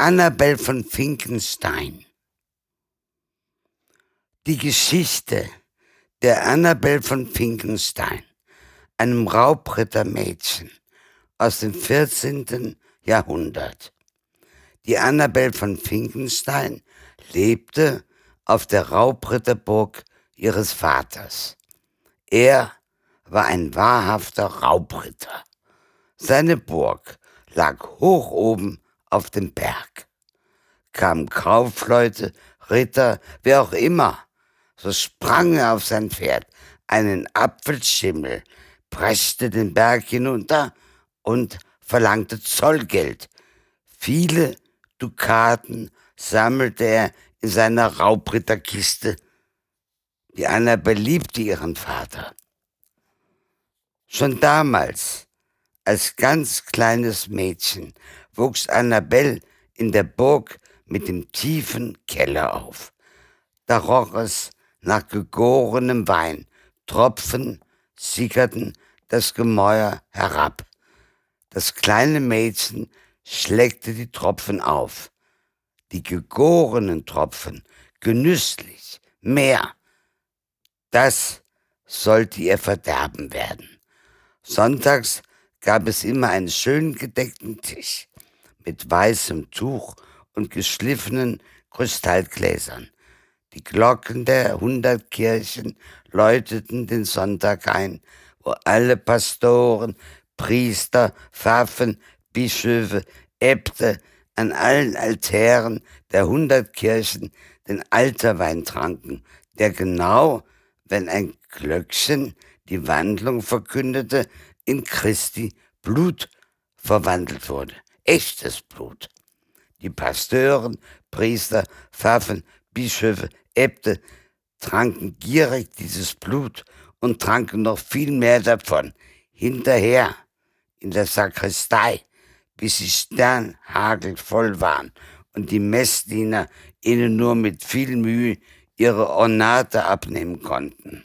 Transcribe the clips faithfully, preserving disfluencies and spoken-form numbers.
Annabel von Finkenstein. Die Geschichte der Annabel von Finkenstein, einem Raubrittermädchen aus dem vierzehnten Jahrhundert. Die Annabel von Finkenstein lebte auf der Raubritterburg ihres Vaters. Er war ein wahrhafter Raubritter. Seine Burg lag hoch oben auf dem Berg. Kamen Kaufleute, Ritter, wer auch immer, so sprang er auf sein Pferd, einen Apfelschimmel, preschte den Berg hinunter und verlangte Zollgeld. Viele Dukaten sammelte er in seiner Raubritterkiste. Die Annabel liebte ihren Vater. Schon damals, als ganz kleines Mädchen, wuchs Annabel in der Burg mit dem tiefen Keller auf. Da roch es nach gegorenem Wein, Tropfen sickerten das Gemäuer herab. Das kleine Mädchen schleckte die Tropfen auf, die gegorenen Tropfen, genüsslich, mehr. Das sollte ihr Verderben werden. Sonntags gab es immer einen schön gedeckten Tisch mit weißem Tuch und geschliffenen Kristallgläsern. Die Glocken der hundert Kirchen läuteten den Sonntag ein, wo alle Pastoren, Priester, Pfaffen, Bischöfe, Äbte an allen Altären der hundert Kirchen den Alterwein tranken, der genau, wenn ein Glöckchen die Wandlung verkündete, in Christi Blut verwandelt wurde. Echtes Blut. Die Pasteuren, Priester, Pfaffen, Bischöfe, Äbte tranken gierig dieses Blut und tranken noch viel mehr davon. Hinterher in der Sakristei, bis sie sternhagelvoll waren und die Messdiener ihnen nur mit viel Mühe ihre Ornate abnehmen konnten.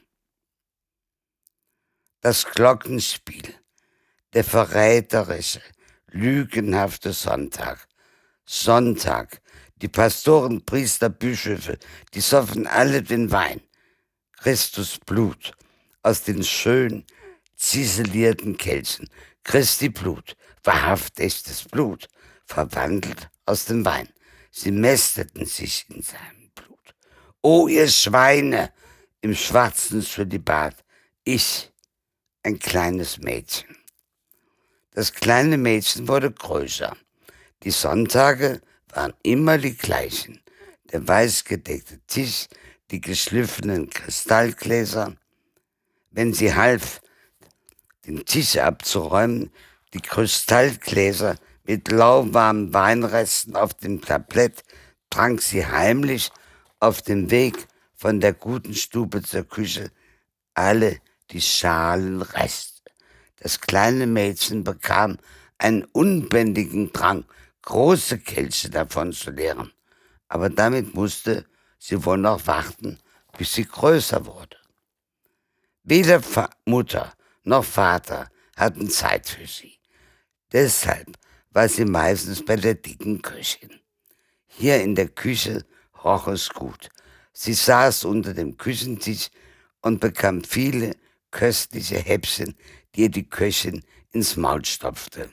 Das Glockenspiel, der verräterische, lügenhafte Sonntag. Sonntag, die Pastoren, Priester, Bischöfe, die soffen alle den Wein. Christus Blut aus den schön ziselierten Kelchen. Christi Blut, wahrhaft echtes Blut, verwandelt aus dem Wein. Sie mästeten sich in seinem Blut. O ihr Schweine im schwarzen Zölibat, ich, ein kleines Mädchen. Das kleine Mädchen wurde größer. Die Sonntage waren immer die gleichen. Der weißgedeckte Tisch, die geschliffenen Kristallgläser. Wenn sie half, den Tisch abzuräumen, die Kristallgläser mit lauwarmen Weinresten auf dem Tablett, trank sie heimlich auf dem Weg von der guten Stube zur Küche alle die Schalenreste. Das kleine Mädchen bekam einen unbändigen Drang, große Kelche davon zu leeren. Aber damit musste sie wohl noch warten, bis sie größer wurde. Weder Mutter noch Vater hatten Zeit für sie. Deshalb war sie meistens bei der dicken Köchin. Hier in der Küche roch es gut. Sie saß unter dem Küchentisch und bekam viele köstliche Häppchen, die ihr die Köchin ins Maul stopfte.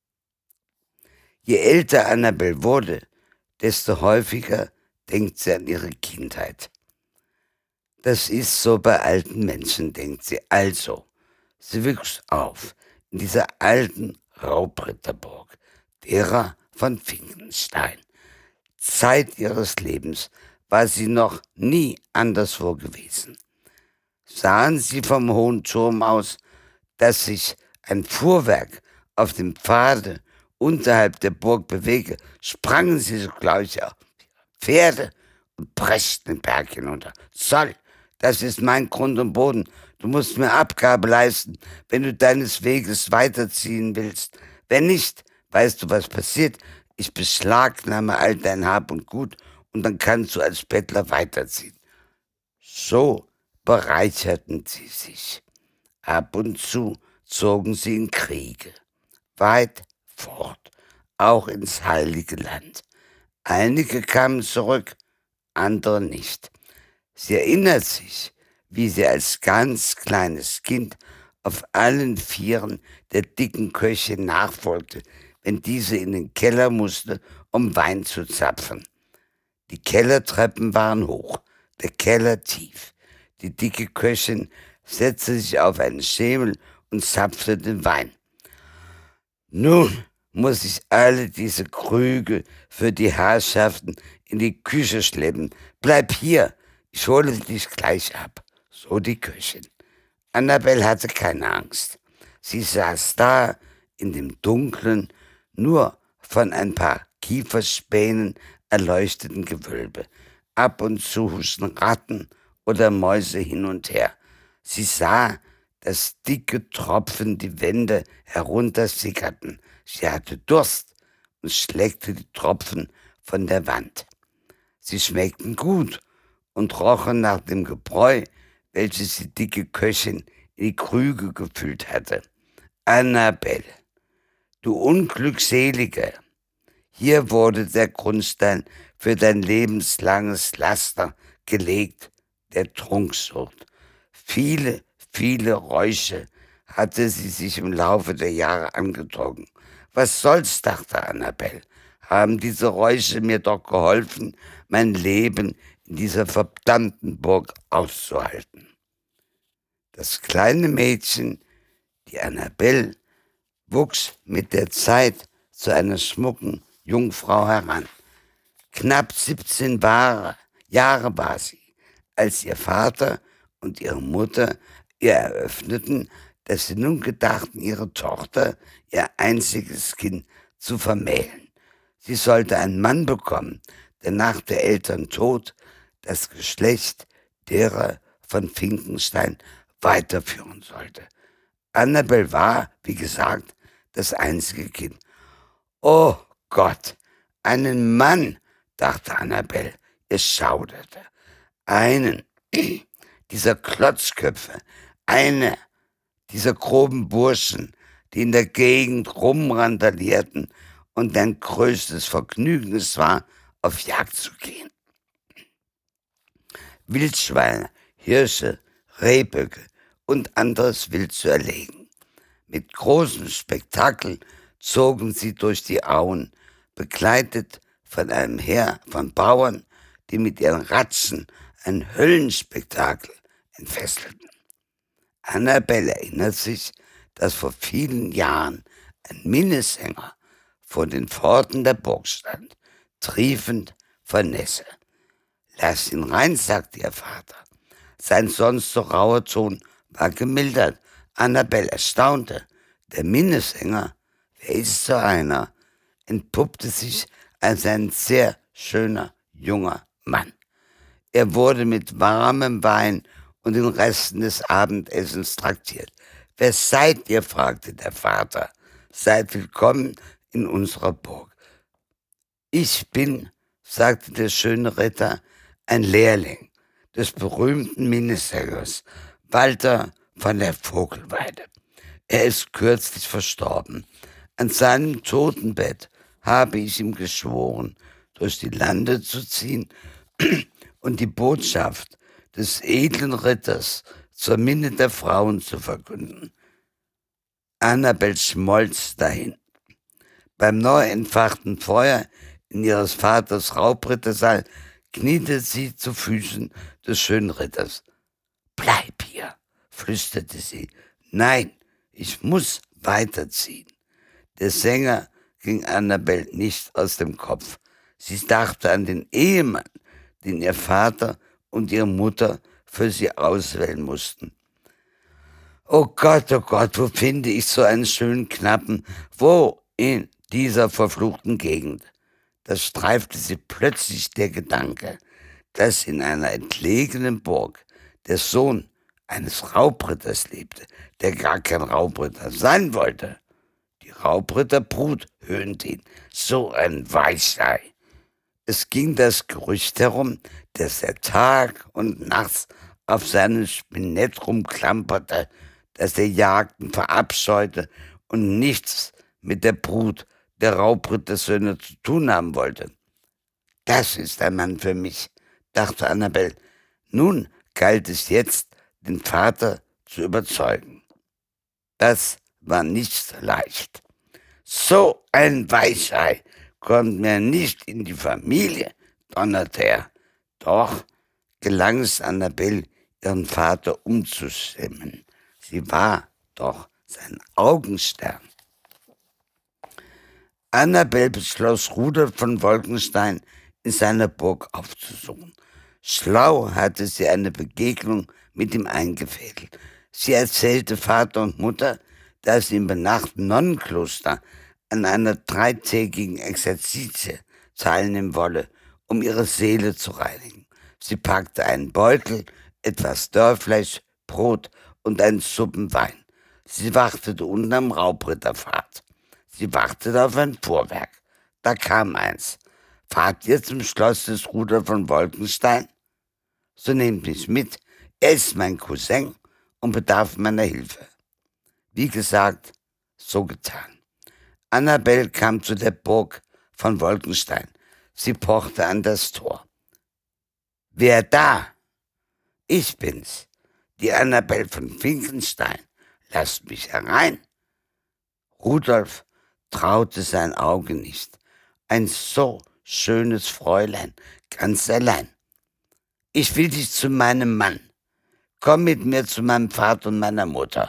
Je älter Annabel wurde, desto häufiger denkt sie an ihre Kindheit. Das ist so bei alten Menschen, denkt sie. Also, sie wuchs auf in dieser alten Raubritterburg, derer von Finkenstein. Zeit ihres Lebens war sie noch nie anderswo gewesen. Sahen sie vom hohen Turm aus, dass sich ein Fuhrwerk auf dem Pfade unterhalb der Burg bewege, sprangen sie sogleich auf Pferde und preschten den Berg hinunter. Zoll, das ist mein Grund und Boden. Du musst mir Abgabe leisten, wenn du deines Weges weiterziehen willst. Wenn nicht, weißt du, was passiert? Ich beschlagnahme all dein Hab und Gut und dann kannst du als Bettler weiterziehen. So bereicherten sie sich. Ab und zu zogen sie in Kriege, weit fort, auch ins Heilige Land. Einige kamen zurück, andere nicht. Sie erinnert sich, wie sie als ganz kleines Kind auf allen Vieren der dicken Köchin nachfolgte, wenn diese in den Keller musste, um Wein zu zapfen. Die Kellertreppen waren hoch, der Keller tief. Die dicke Köchin setzte sich auf einen Schemel und zapfte den Wein. Nun muss ich alle diese Krüge für die Herrschaften in die Küche schleppen. Bleib hier, ich hole dich gleich ab, so die Köchin. Annabel hatte keine Angst. Sie saß da in dem dunklen, nur von ein paar Kieferspänen erleuchteten Gewölbe. Ab und zu huschten Ratten oder Mäuse hin und her. Sie sah, dass dicke Tropfen die Wände heruntersickerten. Sie hatte Durst und schleckte die Tropfen von der Wand. Sie schmeckten gut und rochen nach dem Gebräu, welches die dicke Köchin in die Krüge gefüllt hatte. Annabel, du Unglückselige, hier wurde der Grundstein für dein lebenslanges Laster gelegt, der Trunksucht. Viele, viele Räusche hatte sie sich im Laufe der Jahre angezogen. Was soll's, dachte Annabel, haben diese Räusche mir doch geholfen, mein Leben in dieser verdammten Burg auszuhalten. Das kleine Mädchen, die Annabel, wuchs mit der Zeit zu einer schmucken Jungfrau heran. Knapp siebzehn Jahre war sie, als ihr Vater und ihre Mutter ihr eröffneten, dass sie nun gedachten, ihre Tochter, ihr einziges Kind, zu vermählen. Sie sollte einen Mann bekommen, der nach der Eltern Tod das Geschlecht derer von Finkenstein weiterführen sollte. Annabel war, wie gesagt, das einzige Kind. Oh Gott, einen Mann, dachte Annabel, es schauderte. Einen dieser Klotzköpfe, eine dieser groben Burschen, die in der Gegend rumrandalierten und dein größtes Vergnügen es war, auf Jagd zu gehen. Wildschweine, Hirsche, Rehböcke und anderes Wild zu erlegen. Mit großem Spektakel zogen sie durch die Auen, begleitet von einem Heer von Bauern, die mit ihren Ratschen ein Höllenspektakel entfesselten. Annabel erinnert sich, dass vor vielen Jahren ein Minnesänger vor den Pforten der Burg stand, triefend vor Nässe. Lass ihn rein, sagte ihr Vater. Sein sonst so rauer Ton war gemildert. Annabel erstaunte. Der Minnesänger, wer ist so einer, entpuppte sich als ein sehr schöner junger Mann. Er wurde mit warmem Wein und den Resten des Abendessens traktiert. »Wer seid ihr?« fragte der Vater. »Seid willkommen in unserer Burg.« »Ich bin«, sagte der schöne Ritter, »ein Lehrling des berühmten Minnesängers Walter von der Vogelweide. Er ist kürzlich verstorben. An seinem Totenbett habe ich ihm geschworen, durch die Lande zu ziehen und die Botschaft des edlen Ritters zur Minne der Frauen zu verkünden.« Annabel schmolz dahin. Beim neu entfachten Feuer in ihres Vaters Raubrittersaal kniete sie zu Füßen des schönen Ritters. »Bleib hier«, flüsterte sie. »Nein, ich muss weiterziehen.« Der Sänger ging Annabel nicht aus dem Kopf. Sie dachte an den Ehemann, den ihr Vater und ihre Mutter für sie auswählen mussten. »Oh Gott, oh Gott, wo finde ich so einen schönen Knappen? Wo in dieser verfluchten Gegend?« Da streifte sie plötzlich der Gedanke, dass in einer entlegenen Burg der Sohn eines Raubritters lebte, der gar kein Raubritter sein wollte. Die Raubritterbrut höhnte ihn, so ein Weichei. Es ging das Gerücht herum, dass er Tag und nachts auf seinem Spinett rumklamperte, dass er Jagden verabscheute und nichts mit der Brut der Raubrittersöhne zu tun haben wollte. Das ist ein Mann für mich, dachte Annabel. Nun galt es jetzt, den Vater zu überzeugen. Das war nicht so leicht. So ein Weichei kommt mir nicht in die Familie, donnerte er. Doch gelang es Annabel, ihren Vater umzustimmen. Sie war doch sein Augenstern. Annabel beschloss, Rudolf von Wolkenstein in seiner Burg aufzusuchen. Schlau hatte sie eine Begegnung mit ihm eingefädelt. Sie erzählte Vater und Mutter, dass sie im benachbarten Nonnenkloster an einer dreitägigen Exerzitie teilnehmen wolle, um ihre Seele zu reinigen. Sie packte einen Beutel, etwas Dörrfleisch, Brot und einen Suppen Wein. Sie wartete unten am Raubritterpfad. Sie wartete auf ein Fuhrwerk. Da kam eins. Fahrt ihr zum Schloss des Rudolf von Wolkenstein? So nehmt mich mit. Er ist mein Cousin und bedarf meiner Hilfe. Wie gesagt, so getan. Annabel kam zu der Burg von Wolkenstein. Sie pochte an das Tor. Wer da? Ich bin's, die Annabel von Finkenstein. Lasst mich herein. Rudolf traute sein Auge nicht. Ein so schönes Fräulein, ganz allein. Ich will dich zu meinem Mann. Komm mit mir zu meinem Vater und meiner Mutter.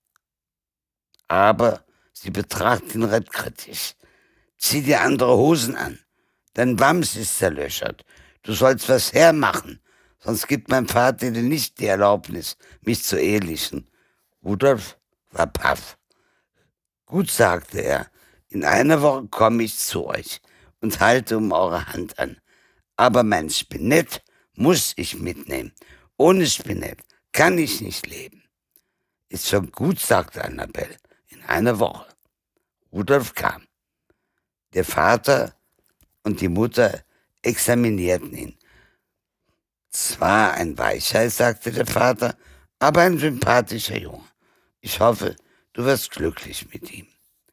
Aber sie betrachtet ihn recht kritisch. Zieh dir andere Hosen an. Dein Wams ist zerlöchert. Du sollst was hermachen, sonst gibt mein Vater dir nicht die Erlaubnis, mich zu ehelichen. Rudolf war paff. Gut, sagte er, in einer Woche komme ich zu euch und halte um eure Hand an. Aber mein Spinett muss ich mitnehmen. Ohne Spinett kann ich nicht leben. Ist schon gut, sagte Annabel, in einer Woche. Rudolf kam. Der Vater und die Mutter examinierten ihn. Zwar ein Weichei, sagte der Vater, aber ein sympathischer Junge. Ich hoffe, du wirst glücklich mit ihm.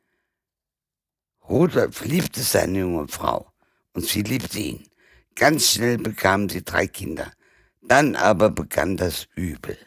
Rudolf liebte seine junge Frau und sie liebte ihn. Ganz schnell bekamen sie drei Kinder. Dann aber begann das Übel.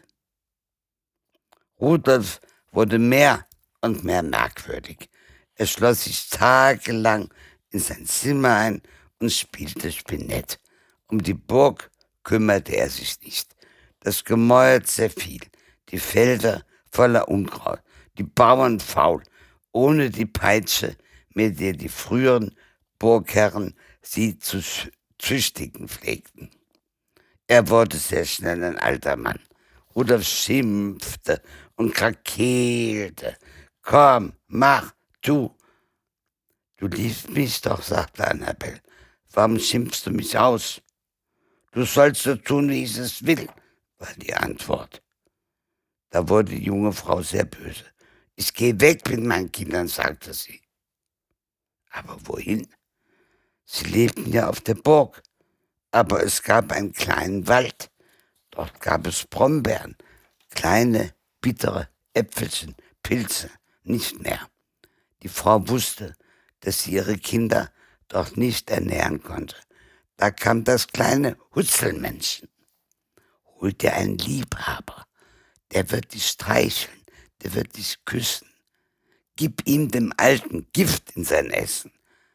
Rudolf wurde mehr und mehr merkwürdig. Er schloss sich tagelang in sein Zimmer ein und spielte Spinett. Um die Burg kümmerte er sich nicht. Das Gemäuer zerfiel, die Felder voller Unkraut, die Bauern faul, ohne die Peitsche, mit der die früheren Burgherren sie zu züchtigen pflegten. Er wurde sehr schnell ein alter Mann. Rudolf schimpfte und krakeelte. Komm, mach, tu. Du liebst mich doch, sagte Annabel. Warum schimpfst du mich aus? Du sollst so tun, wie ich es will, war die Antwort. Da wurde die junge Frau sehr böse. Ich gehe weg mit meinen Kindern, sagte sie. Aber wohin? Sie lebten ja auf der Burg, aber es gab einen kleinen Wald. Dort gab es Brombeeren, kleine, bittere Äpfelchen, Pilze, nicht mehr. Die Frau wusste, dass sie ihre Kinder dort nicht ernähren konnte. Da kam das kleine Hutzelmännchen. Hol dir einen Liebhaber, der wird dich streicheln, der wird dich küssen. Gib ihm dem Alten Gift in sein Essen.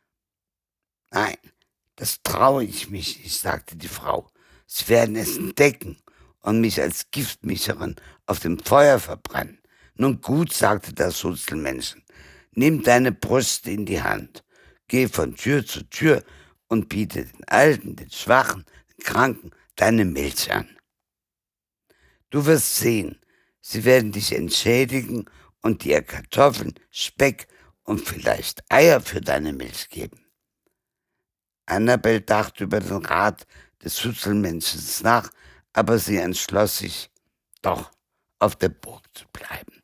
Nein, das traue ich mich nicht, sagte die Frau. Sie werden es entdecken und mich als Giftmischerin auf dem Feuer verbrennen. Nun gut, sagte das Hutzelmännchen, nimm deine Brüste in die Hand, geh von Tür zu Tür und biete den Alten, den Schwachen, den Kranken deine Milch an. Du wirst sehen, sie werden dich entschädigen und dir Kartoffeln, Speck und vielleicht Eier für deine Milch geben. Annabel dachte über den Rat des Hutzelmännchens nach, aber sie entschloss sich, doch auf der Burg zu bleiben.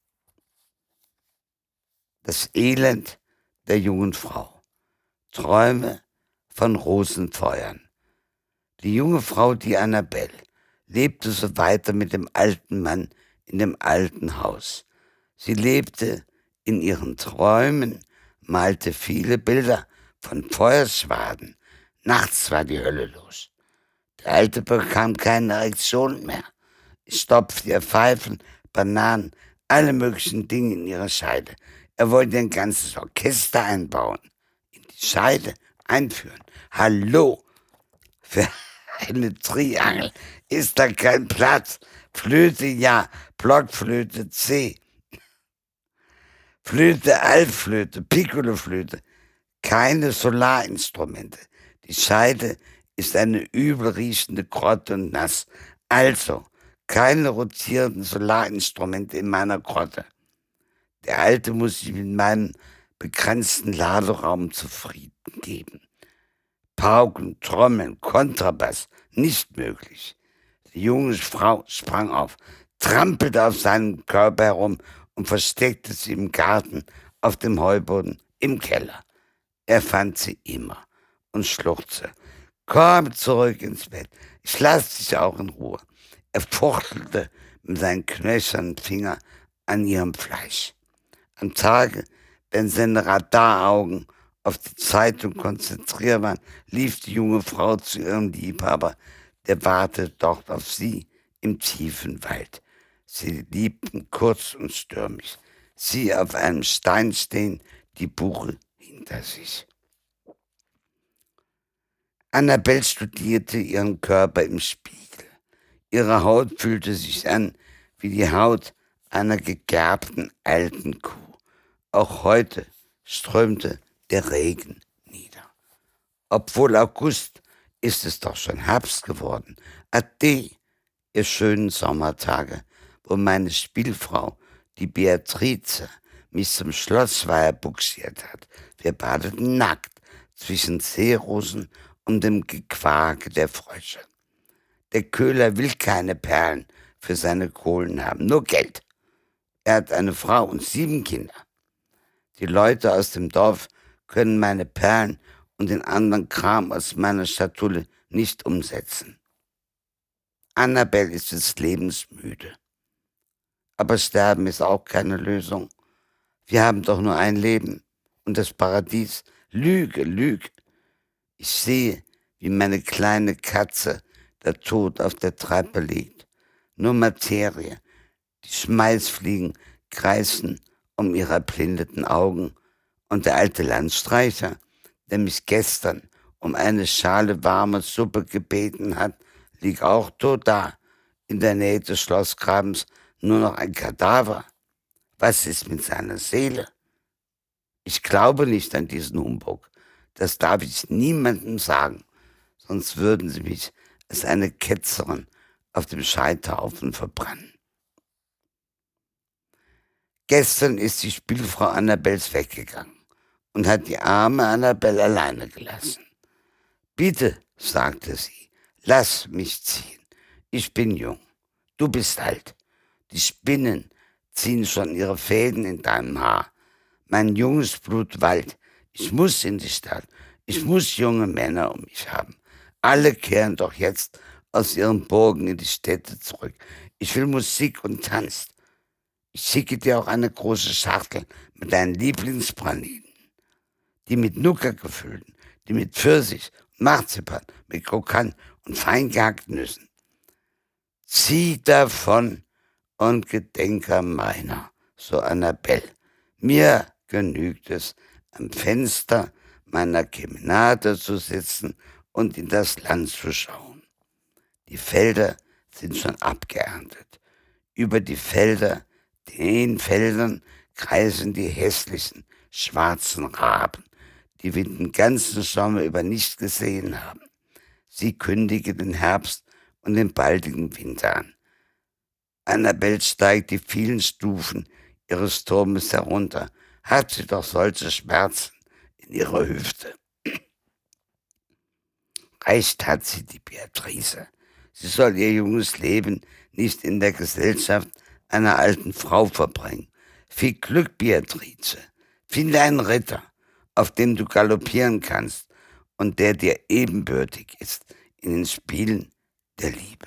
Das Elend der jungen Frau. Träume von Rosenfeuern. Die junge Frau, die Annabel, lebte so weiter mit dem alten Mann in dem alten Haus. Sie lebte in ihren Träumen, malte viele Bilder von Feuerschwaden, Nachts war die Hölle los. Der Alte bekam keine Erektion mehr. Es stopfte ihr Pfeifen, Bananen, alle möglichen Dinge in ihre Scheide. Er wollte ein ganzes Orchester einbauen, in die Scheide einführen. Hallo, für eine Triangel ist da kein Platz. Flöte ja, Blockflöte C, Flöte, Altflöte, Piccoloflöte, keine Solarinstrumente. Die Scheide ist eine übel riechende Grotte und nass. Also, keine rotierenden Solarinstrumente in meiner Grotte. Der Alte muss sich mit meinem begrenzten Laderaum zufrieden geben. Pauken, Trommeln, Kontrabass, nicht möglich. Die junge Frau sprang auf, trampelte auf seinem Körper herum und versteckte sie im Garten, auf dem Heuboden, im Keller. Er fand sie immer und schluchzte. Komm zurück ins Bett, ich lass dich auch in Ruhe. Er fuchtelte mit seinen knöchernen Fingern an ihrem Fleisch. Am Tage, wenn seine Radaraugen auf die Zeitung konzentriert waren, lief die junge Frau zu ihrem Liebhaber, der wartete dort auf sie im tiefen Wald. Sie liebten kurz und stürmisch. Sie auf einem Stein stehen, die Buche hinter sich. Annabel studierte ihren Körper im Spiegel. Ihre Haut fühlte sich an wie die Haut einer gegerbten alten Kuh. Auch heute strömte der Regen nieder. Obwohl August, ist es doch schon Herbst geworden. Ade, ihr schönen Sommertage, wo meine Spielfrau, die Beatrice, mich zum Schlossweiher buxiert hat. Wir badeten nackt zwischen Seerosen und dem Gequake der Frösche. Der Köhler will keine Perlen für seine Kohlen haben, nur Geld. Er hat eine Frau und sieben Kinder. Die Leute aus dem Dorf können meine Perlen und den anderen Kram aus meiner Schatulle nicht umsetzen. Annabel ist des Lebens müde. Aber Sterben ist auch keine Lösung. Wir haben doch nur ein Leben und das Paradies. Lüge, Lüge. Ich sehe, wie meine kleine Katze, der Tod, auf der Treppe liegt. Nur Materie. Die Schmeißfliegen kreisen um ihre erblindeten Augen. Und der alte Landstreicher, der mich gestern um eine Schale warme Suppe gebeten hat, liegt auch tot da. In der Nähe des Schlossgrabens nur noch ein Kadaver. Was ist mit seiner Seele? Ich glaube nicht an diesen Humbug. Das darf ich niemandem sagen, sonst würden sie mich als eine Ketzerin auf dem Scheiterhaufen verbrennen. Gestern ist die Spielfrau Annabels weggegangen und hat die arme Annabel alleine gelassen. Bitte, sagte sie, lass mich ziehen. Ich bin jung, du bist alt. Die Spinnen ziehen schon ihre Fäden in deinem Haar. Mein junges Blut wallt. Ich muss in die Stadt. Ich muss junge Männer um mich haben. Alle kehren doch jetzt aus ihren Burgen in die Städte zurück. Ich will Musik und Tanz. Ich schicke dir auch eine große Schachtel mit deinen Lieblingspralinen. Die mit Nuka gefüllten, die mit Pfirsich und Marzipan, mit Krokant und fein gehackten Nüssen. Zieh davon und gedenke meiner, so Annabel. Mir genügt es, am Fenster meiner Kemenate zu sitzen und in das Land zu schauen. Die Felder sind schon abgeerntet. Über die Felder, den Feldern kreisen die hässlichen, schwarzen Raben, die wir den ganzen Sommer über nicht gesehen haben. Sie kündigen den Herbst und den baldigen Winter an. Annabel steigt die vielen Stufen ihres Turmes herunter. Hat sie doch solche Schmerzen in ihrer Hüfte. Recht hat sie, die Beatrice. Sie soll ihr junges Leben nicht in der Gesellschaft einer alten Frau verbringen. Viel Glück, Beatrice. Finde einen Ritter, auf dem du galoppieren kannst und der dir ebenbürtig ist in den Spielen der Liebe.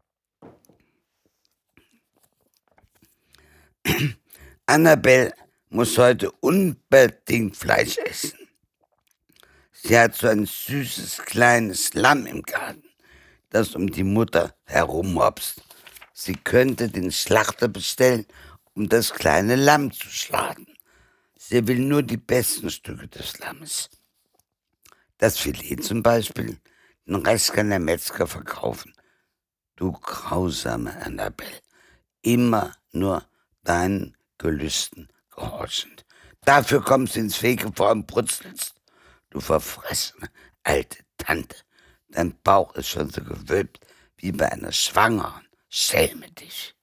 Annabel muss heute unbedingt Fleisch essen. Sie hat so ein süßes kleines Lamm im Garten, das um die Mutter herummopst. Sie könnte den Schlachter bestellen, um das kleine Lamm zu schlagen. Sie will nur die besten Stücke des Lammes. Das Filet zum Beispiel, den Rest kann der Metzger verkaufen. Du grausame Annabelle, immer nur deinen Gelüsten gehorchend. Dafür kommst du ins Fegefeuer und brutzelst. Du verfressene alte Tante, dein Bauch ist schon so gewölbt wie bei einer Schwangeren. Schäme dich.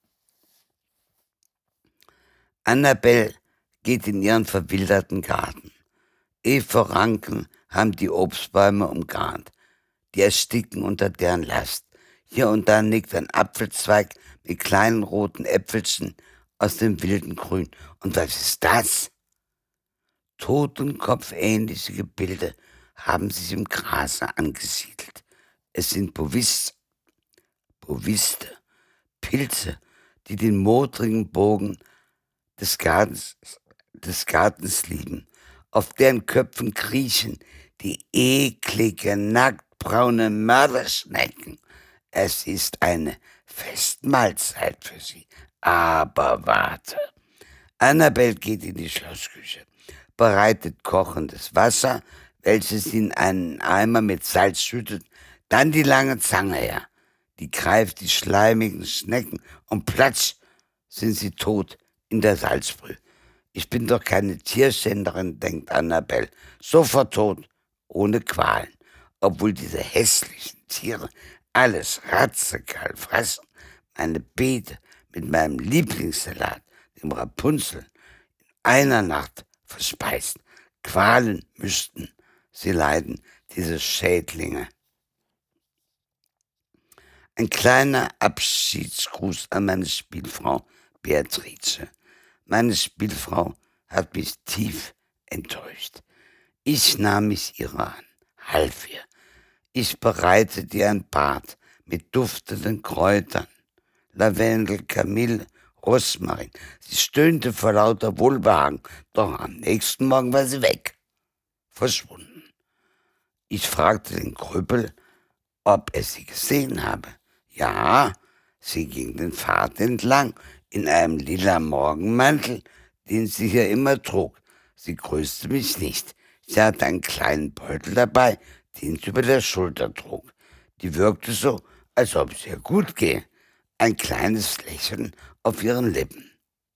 Annabelle geht in ihren verwilderten Garten. Efeu-Ranken haben die Obstbäume umgarnt. Die ersticken unter deren Last. Hier und da nickt ein Apfelzweig mit kleinen roten Äpfelchen aus dem wilden Grün. Und was ist das? Totenkopfähnliche Gebilde haben sich im Grase angesiedelt. Es sind Bovis, Boviste, Pilze, die den modrigen Bogen des Gartens, des Gartens lieben. Auf deren Köpfen kriechen die eklige, nacktbraune Mörderschnecken. Es ist eine Festmahlzeit für sie. Aber warte. Annabelle geht in die Schlossküche, bereitet kochendes Wasser, welches sie in einen Eimer mit Salz schüttet, dann die lange Zange her. Die greift die schleimigen Schnecken und platsch sind sie tot in der Salzbrühe. Ich bin doch keine Tierschänderin, denkt Annabelle, sofort tot, ohne Qualen, obwohl diese hässlichen Tiere alles radikal fressen, meine Beete mit meinem Lieblingssalat, dem Rapunzel, in einer Nacht verspeisen. Qualen müssten sie leiden, diese Schädlinge. Ein kleiner Abschiedsgruß an meine Spielfrau Beatrice. Meine Spielfrau hat mich tief enttäuscht. Ich nahm mich ihrer an, half ihr. Ich bereitete ihr ein Bad mit duftenden Kräutern, Lavendel, Kamille, Rosmarin. Sie stöhnte vor lauter Wohlbehagen, doch am nächsten Morgen war sie weg, verschwunden. Ich fragte den Krüppel, ob er sie gesehen habe. Ja, sie ging den Pfad entlang, in einem lila Morgenmantel, den sie hier immer trug. Sie grüßte mich nicht. Sie hatte einen kleinen Beutel dabei, den sie über der Schulter trug. Die wirkte so, als ob es ihr gut gehe. Ein kleines Lächeln auf ihren Lippen.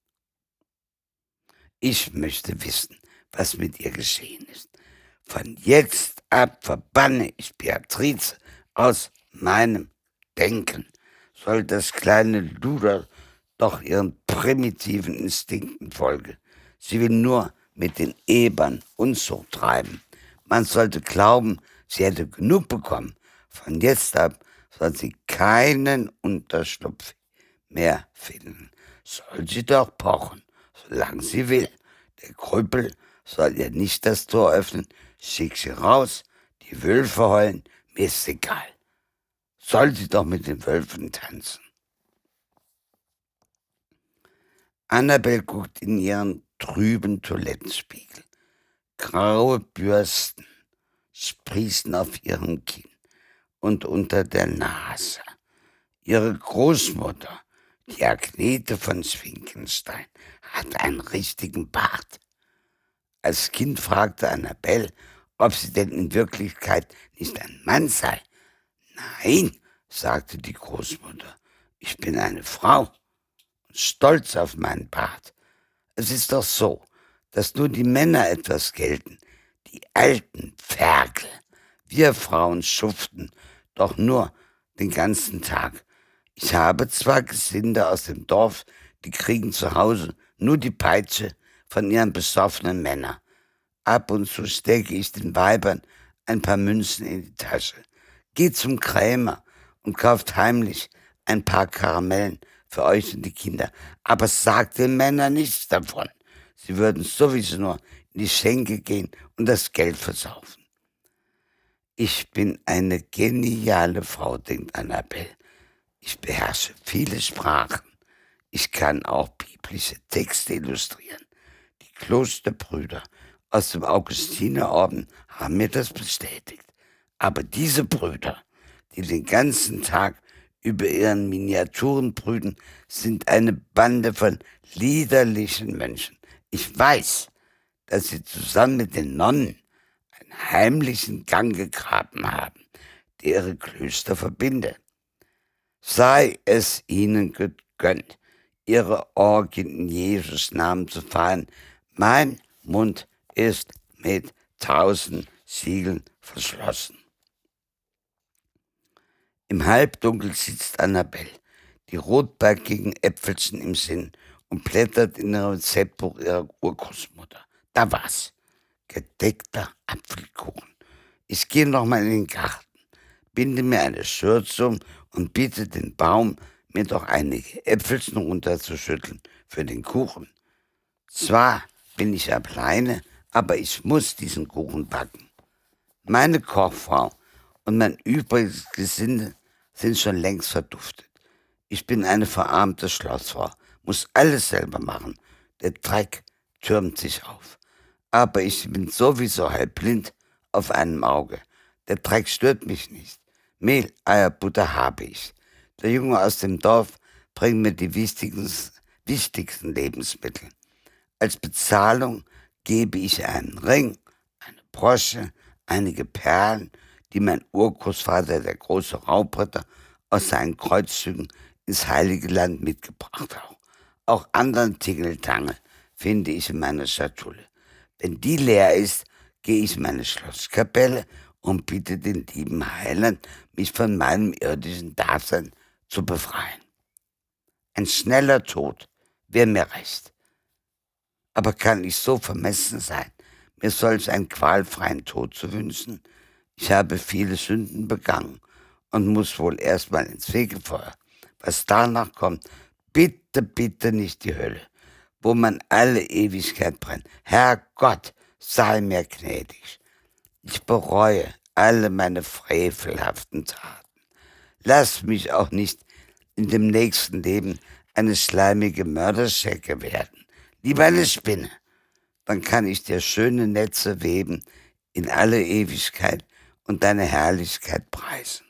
Ich möchte wissen, was mit ihr geschehen ist. Von jetzt ab verbanne ich Beatrice aus meinem Denken. Soll das kleine Luder doch ihren primitiven Instinkten folgen. Sie will nur mit den Ebern Unzucht treiben. Man sollte glauben, sie hätte genug bekommen. Von jetzt ab soll sie keinen Unterschlupf mehr finden. Soll sie doch pochen, solange sie will. Der Krüppel soll ihr nicht das Tor öffnen. Schick sie raus, die Wölfe heulen, mir ist egal. Soll sie doch mit den Wölfen tanzen. Annabelle guckt in ihren trüben Toilettenspiegel. Graue Bürsten sprießen auf ihrem Kinn und unter der Nase. Ihre Großmutter, die Agnete von Schwinkenstein, hat einen richtigen Bart. Als Kind fragte Annabelle, ob sie denn in Wirklichkeit nicht ein Mann sei. Nein, sagte die Großmutter, ich bin eine Frau und stolz auf meinen Bart. Es ist doch so, dass nur die Männer etwas gelten, die alten Ferkel. Wir Frauen schuften doch nur den ganzen Tag. Ich habe zwar Gesinde aus dem Dorf, die kriegen zu Hause nur die Peitsche von ihren besoffenen Männern. Ab und zu stecke ich den Weibern ein paar Münzen in die Tasche. Geh zum Krämer und kauft heimlich ein paar Karamellen für euch und die Kinder. Aber sagt den Männern nichts davon. Sie würden sowieso nur in die Schenke gehen und das Geld versaufen. Ich bin eine geniale Frau, denkt Annabelle. Ich beherrsche viele Sprachen. Ich kann auch biblische Texte illustrieren. Die Klosterbrüder aus dem Augustinerorden haben mir das bestätigt. Aber diese Brüder, die den ganzen Tag über ihren Miniaturen brüten, sind eine Bande von liederlichen Mönchen. Ich weiß, dass sie zusammen mit den Nonnen einen heimlichen Gang gegraben haben, der ihre Klöster verbinde. Sei es ihnen gegönnt, ihre Orgien in Jesus Namen zu feiern. Mein Mund ist mit tausend Siegeln verschlossen. Im Halbdunkel sitzt Annabelle, die rotbackigen Äpfelchen im Sinn, und blättert in ihrem Rezeptbuch ihrer Urgroßmutter. Da war's. Gedeckter Apfelkuchen. Ich gehe noch mal in den Garten, binde mir eine Schürze um und bitte den Baum, mir doch einige Äpfelchen runterzuschütteln für den Kuchen. Zwar bin ich alleine, aber ich muss diesen Kuchen backen. Meine Kochfrau und mein übriges Gesinde sind schon längst verduftet. Ich bin eine verarmte Schlossfrau, muss alles selber machen. Der Dreck türmt sich auf. Aber ich bin sowieso halb blind auf einem Auge. Der Dreck stört mich nicht. Mehl, Eier, Butter habe ich. Der Junge aus dem Dorf bringt mir die wichtigsten, wichtigsten Lebensmittel. Als Bezahlung gebe ich einen Ring, eine Brosche, einige Perlen, die mein Urgroßvater, der große Raubritter, aus seinen Kreuzzügen ins Heilige Land mitgebracht hat. Auch anderen Tingeltangel finde ich in meiner Schatulle. Wenn die leer ist, gehe ich in meine Schlosskapelle und bitte den lieben Heiland, mich von meinem irdischen Dasein zu befreien. Ein schneller Tod wäre mir recht. Aber kann ich so vermessen sein, mir solch einen qualfreien Tod zu wünschen? Ich habe viele Sünden begangen und muss wohl erstmal ins Fegefeuer. Was danach kommt, bitte, bitte nicht die Hölle, wo man alle Ewigkeit brennt. Herrgott, sei mir gnädig. Ich bereue alle meine frevelhaften Taten. Lass mich auch nicht in dem nächsten Leben eine schleimige Mörderschecke werden. Lieber eine Spinne, dann kann ich dir schöne Netze weben in alle Ewigkeit und deine Herrlichkeit preisen.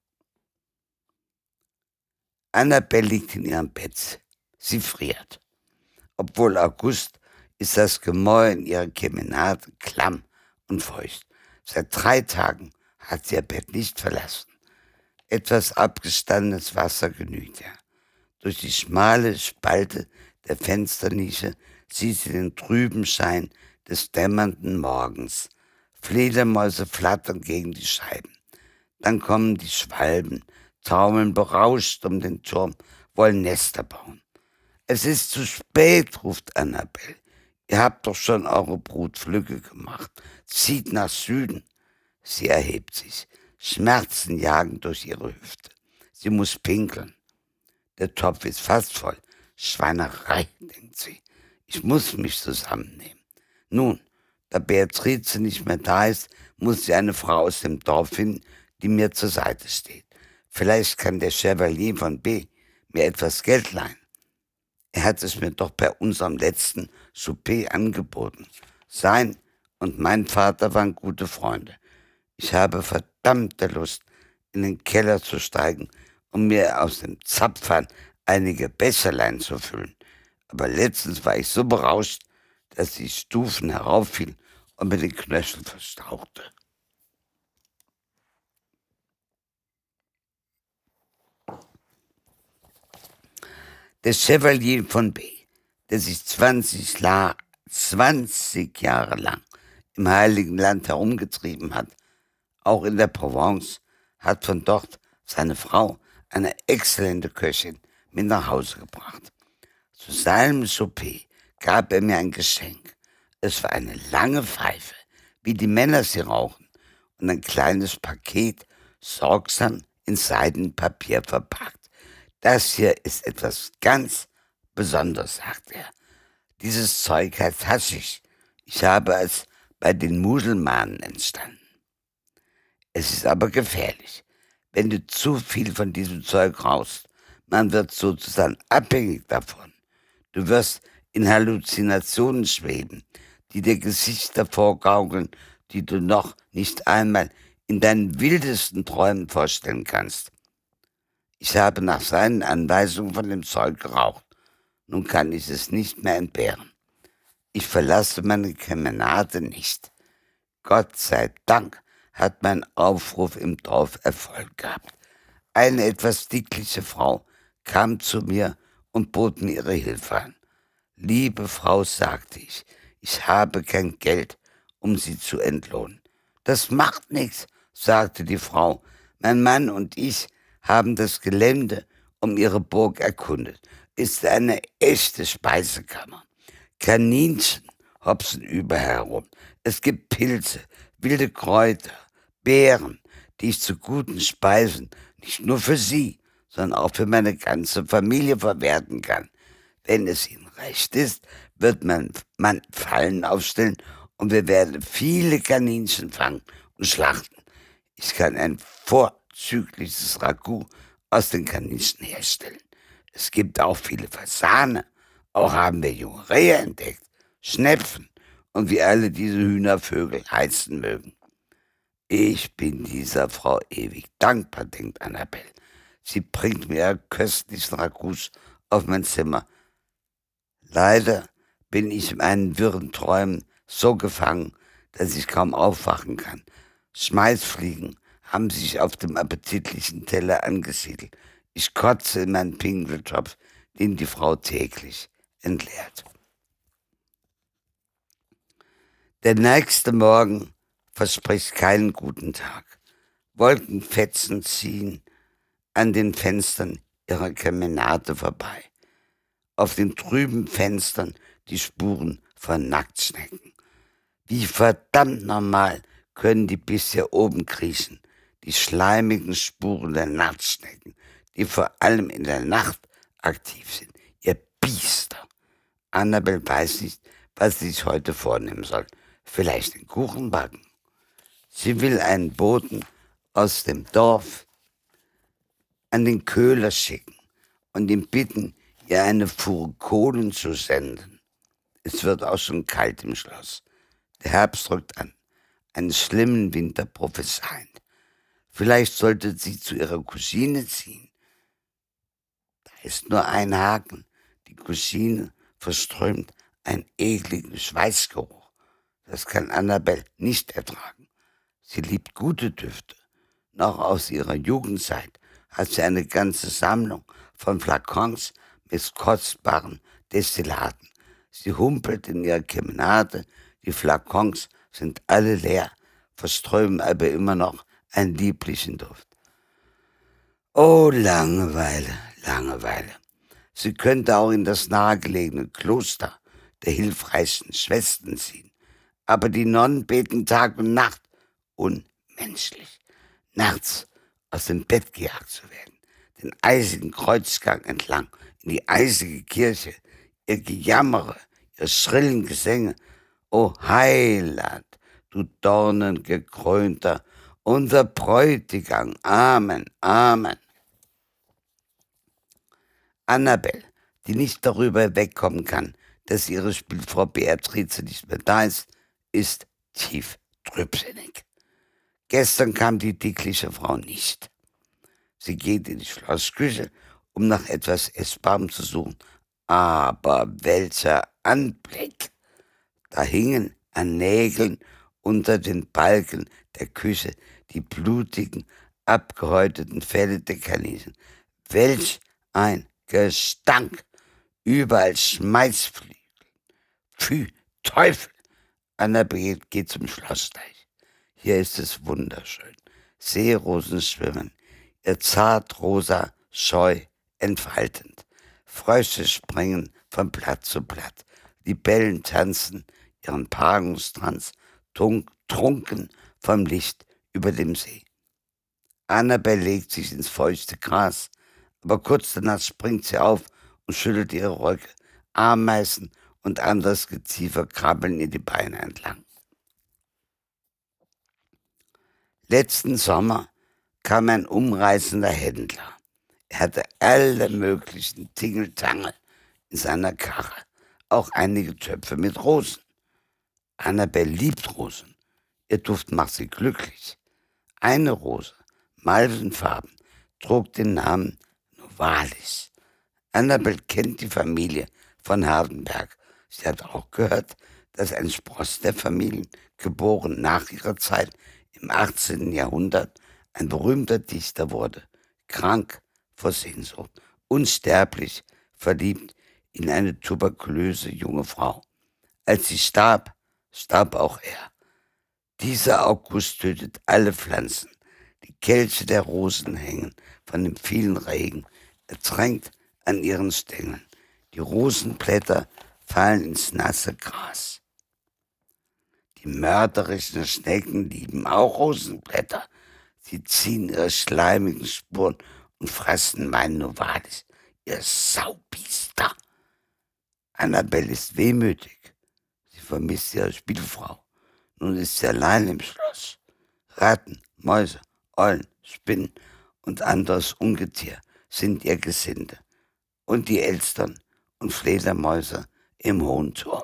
Annabelle liegt in ihrem Bett. Sie friert. Obwohl August ist das Gemäuer in ihrer Kemenate klamm und feucht. Seit drei Tagen hat sie ihr Bett nicht verlassen. Etwas abgestandenes Wasser genügt ihr. Durch die schmale Spalte der Fensternische sieht sie den trüben Schein des dämmernden Morgens. Fledermäuse flattern gegen die Scheiben. Dann kommen die Schwalben, taumeln berauscht um den Turm, wollen Nester bauen. Es ist zu spät, ruft Annabelle. Ihr habt doch schon eure Brutflüge gemacht. Zieht nach Süden. Sie erhebt sich. Schmerzen jagen durch ihre Hüfte. Sie muss pinkeln. Der Topf ist fast voll. Schweinerei, denkt sie. Ich muss mich zusammennehmen. Nun, da Beatrice nicht mehr da ist, muss sie eine Frau aus dem Dorf finden, die mir zur Seite steht. Vielleicht kann der Chevalier von B. mir etwas Geld leihen. Er hat es mir doch bei unserem letzten Souper angeboten. Sein und mein Vater waren gute Freunde. Ich habe verdammte Lust, in den Keller zu steigen, um mir aus dem Zapfhahn einige Becherlein zu füllen. Aber letztens war ich so berauscht, dass die Stufen herauffiel und mir den Knöchel verstauchte. Der Chevalier von B., der sich zwanzig, La- zwanzig Jahre lang im Heiligen Land herumgetrieben hat, auch in der Provence, hat von dort seine Frau, eine exzellente Köchin, mit nach Hause gebracht. Zu seinem Souper gab er mir ein Geschenk. Es war eine lange Pfeife, wie die Männer sie rauchen, und ein kleines Paket, sorgsam in Seidenpapier verpackt. Das hier ist etwas ganz Besonderes, sagt er. Dieses Zeug heißt Haschisch. Ich habe es bei den Muselmanen entstanden. Es ist aber gefährlich, wenn du zu viel von diesem Zeug rauchst. Man wird sozusagen abhängig davon. Du wirst in Halluzinationen schweben, die dir Gesichter vorgaukeln, die du noch nicht einmal in deinen wildesten Träumen vorstellen kannst. Ich habe nach seinen Anweisungen von dem Zeug geraucht. Nun kann ich es nicht mehr entbehren. Ich verlasse meine Kemenate nicht. Gott sei Dank hat mein Aufruf im Dorf Erfolg gehabt. Eine etwas dickliche Frau kam zu mir und bot mir ihre Hilfe an. »Liebe Frau«, sagte ich, »ich habe kein Geld, um Sie zu entlohnen.« »Das macht nichts«, sagte die Frau. »Mein Mann und ich haben das Gelände um Ihre Burg erkundet. Ist eine echte Speisekammer. Kaninchen hopsen überall herum. Es gibt Pilze, wilde Kräuter, Beeren, die ich zu guten Speisen nicht nur für Sie, sondern auch für meine ganze Familie verwerten kann. Wenn es Ihnen recht ist, wird mein Mann Fallen aufstellen und wir werden viele Kaninchen fangen und schlachten. Ich kann ein vorzügliches Ragout aus den Kaninchen herstellen. Es gibt auch viele Fasane. Auch haben wir junge Rehe entdeckt, Schnepfen und wie alle diese Hühnervögel heißen mögen. Ich bin dieser Frau ewig dankbar, denkt Annabelle. Sie bringt mir ihre köstlichen Ragouts auf mein Zimmer. Leider bin ich in meinen wirren Träumen so gefangen, dass ich kaum aufwachen kann. Schmeißfliegen haben sich auf dem appetitlichen Teller angesiedelt. Ich kotze in meinen Pinkeltopf, den die Frau täglich entleert. Der nächste Morgen verspricht keinen guten Tag. Wolkenfetzen ziehen an den Fenstern ihrer Kemenate vorbei. Auf den trüben Fenstern die Spuren von Nacktschnecken. Wie verdammt normal können die bis hier oben kriechen, die schleimigen Spuren der Nacktschnecken, die vor allem in der Nacht aktiv sind. Ihr Biester! Annabelle weiß nicht, was sie sich heute vornehmen soll. Vielleicht den Kuchen backen. Sie will einen Boten aus dem Dorf an den Köhler schicken und ihn bitten, ihr eine Fuhre Kohlen zu senden. Es wird auch schon kalt im Schloss. Der Herbst rückt an, einen schlimmen Winter prophezeiend. Vielleicht sollte sie zu ihrer Cousine ziehen. Da ist nur ein Haken. Die Cousine verströmt einen ekligen Schweißgeruch. Das kann Annabelle nicht ertragen. Sie liebt gute Düfte. Noch aus ihrer Jugendzeit hat sie eine ganze Sammlung von Flakons mit kostbaren Destillaten. Sie humpelt in ihrer Kemenate, die Flakons sind alle leer, verströmen aber immer noch einen lieblichen Duft. Oh, Langeweile, Langeweile. Sie könnte auch in das nahegelegene Kloster der hilfreichen Schwestern ziehen. Aber die Nonnen beten Tag und Nacht. Unmenschlich. Nachts aus dem Bett gejagt zu werden, den eisigen Kreuzgang entlang in die eisige Kirche, ihr Gejammere, ihr schrillen Gesänge. O Heiland, du dornengekrönter, unser Bräutigam. Amen, Amen. Annabelle, die nicht darüber wegkommen kann, dass ihre Spielfrau Beatrice nicht mehr da ist, ist tief trübsinnig. Gestern kam die dickliche Frau nicht. Sie geht in die Schlossküche, um nach etwas Essbarem zu suchen. Aber welcher Anblick! Da hingen an Nägeln unter den Balken der Küche die blutigen, abgehäuteten Felle der Kaninchen. Welch ein Gestank! Überall Schmeißfliegen. Pfui, Teufel! Annabelle geht zum Schlossteich. Hier ist es wunderschön. Seerosen schwimmen, ihr zartrosa Scheu entfaltend. Frösche springen von Blatt zu Blatt. Libellen tanzen ihren Paarungstanz, trunken vom Licht über dem See. Annabelle legt sich ins feuchte Gras, aber kurz danach springt sie auf und schüttelt ihre Röcke. Ameisen und anderes Geziefer krabbeln ihr die Beine entlang. Letzten Sommer kam ein umreißender Händler. Er hatte alle möglichen Tingeltangel in seiner Karre. auch einige Töpfe mit Rosen. Annabel liebt Rosen. Ihr Duft macht sie glücklich. Eine Rose, malvenfarben, trug den Namen Novalis. Annabel kennt die Familie von Hardenberg. Sie hat auch gehört, dass ein Spross der Familien, geboren nach ihrer Zeit im achtzehnten Jahrhundert, ein berühmter Dichter wurde, krank vor Sehnsucht, unsterblich, verliebt in eine tuberkulöse junge Frau. Als sie starb, starb auch er. Dieser August tötet alle Pflanzen. Die Kelche der Rosen hängen von dem vielen Regen, ertränkt an ihren Stängeln. Die Rosenblätter fallen ins nasse Gras. Die mörderischen Schnecken lieben auch Rosenblätter. Sie ziehen ihre schleimigen Spuren und fressen mein Novalis, ihr Saubiester. Annabel ist wehmütig. Sie vermisst ihre Spielfrau. Nun ist sie allein im Schloss. Ratten, Mäuse, Eulen, Spinnen und anderes Ungetier sind ihr Gesinde. Und die Elstern und Fledermäuse im hohen Turm.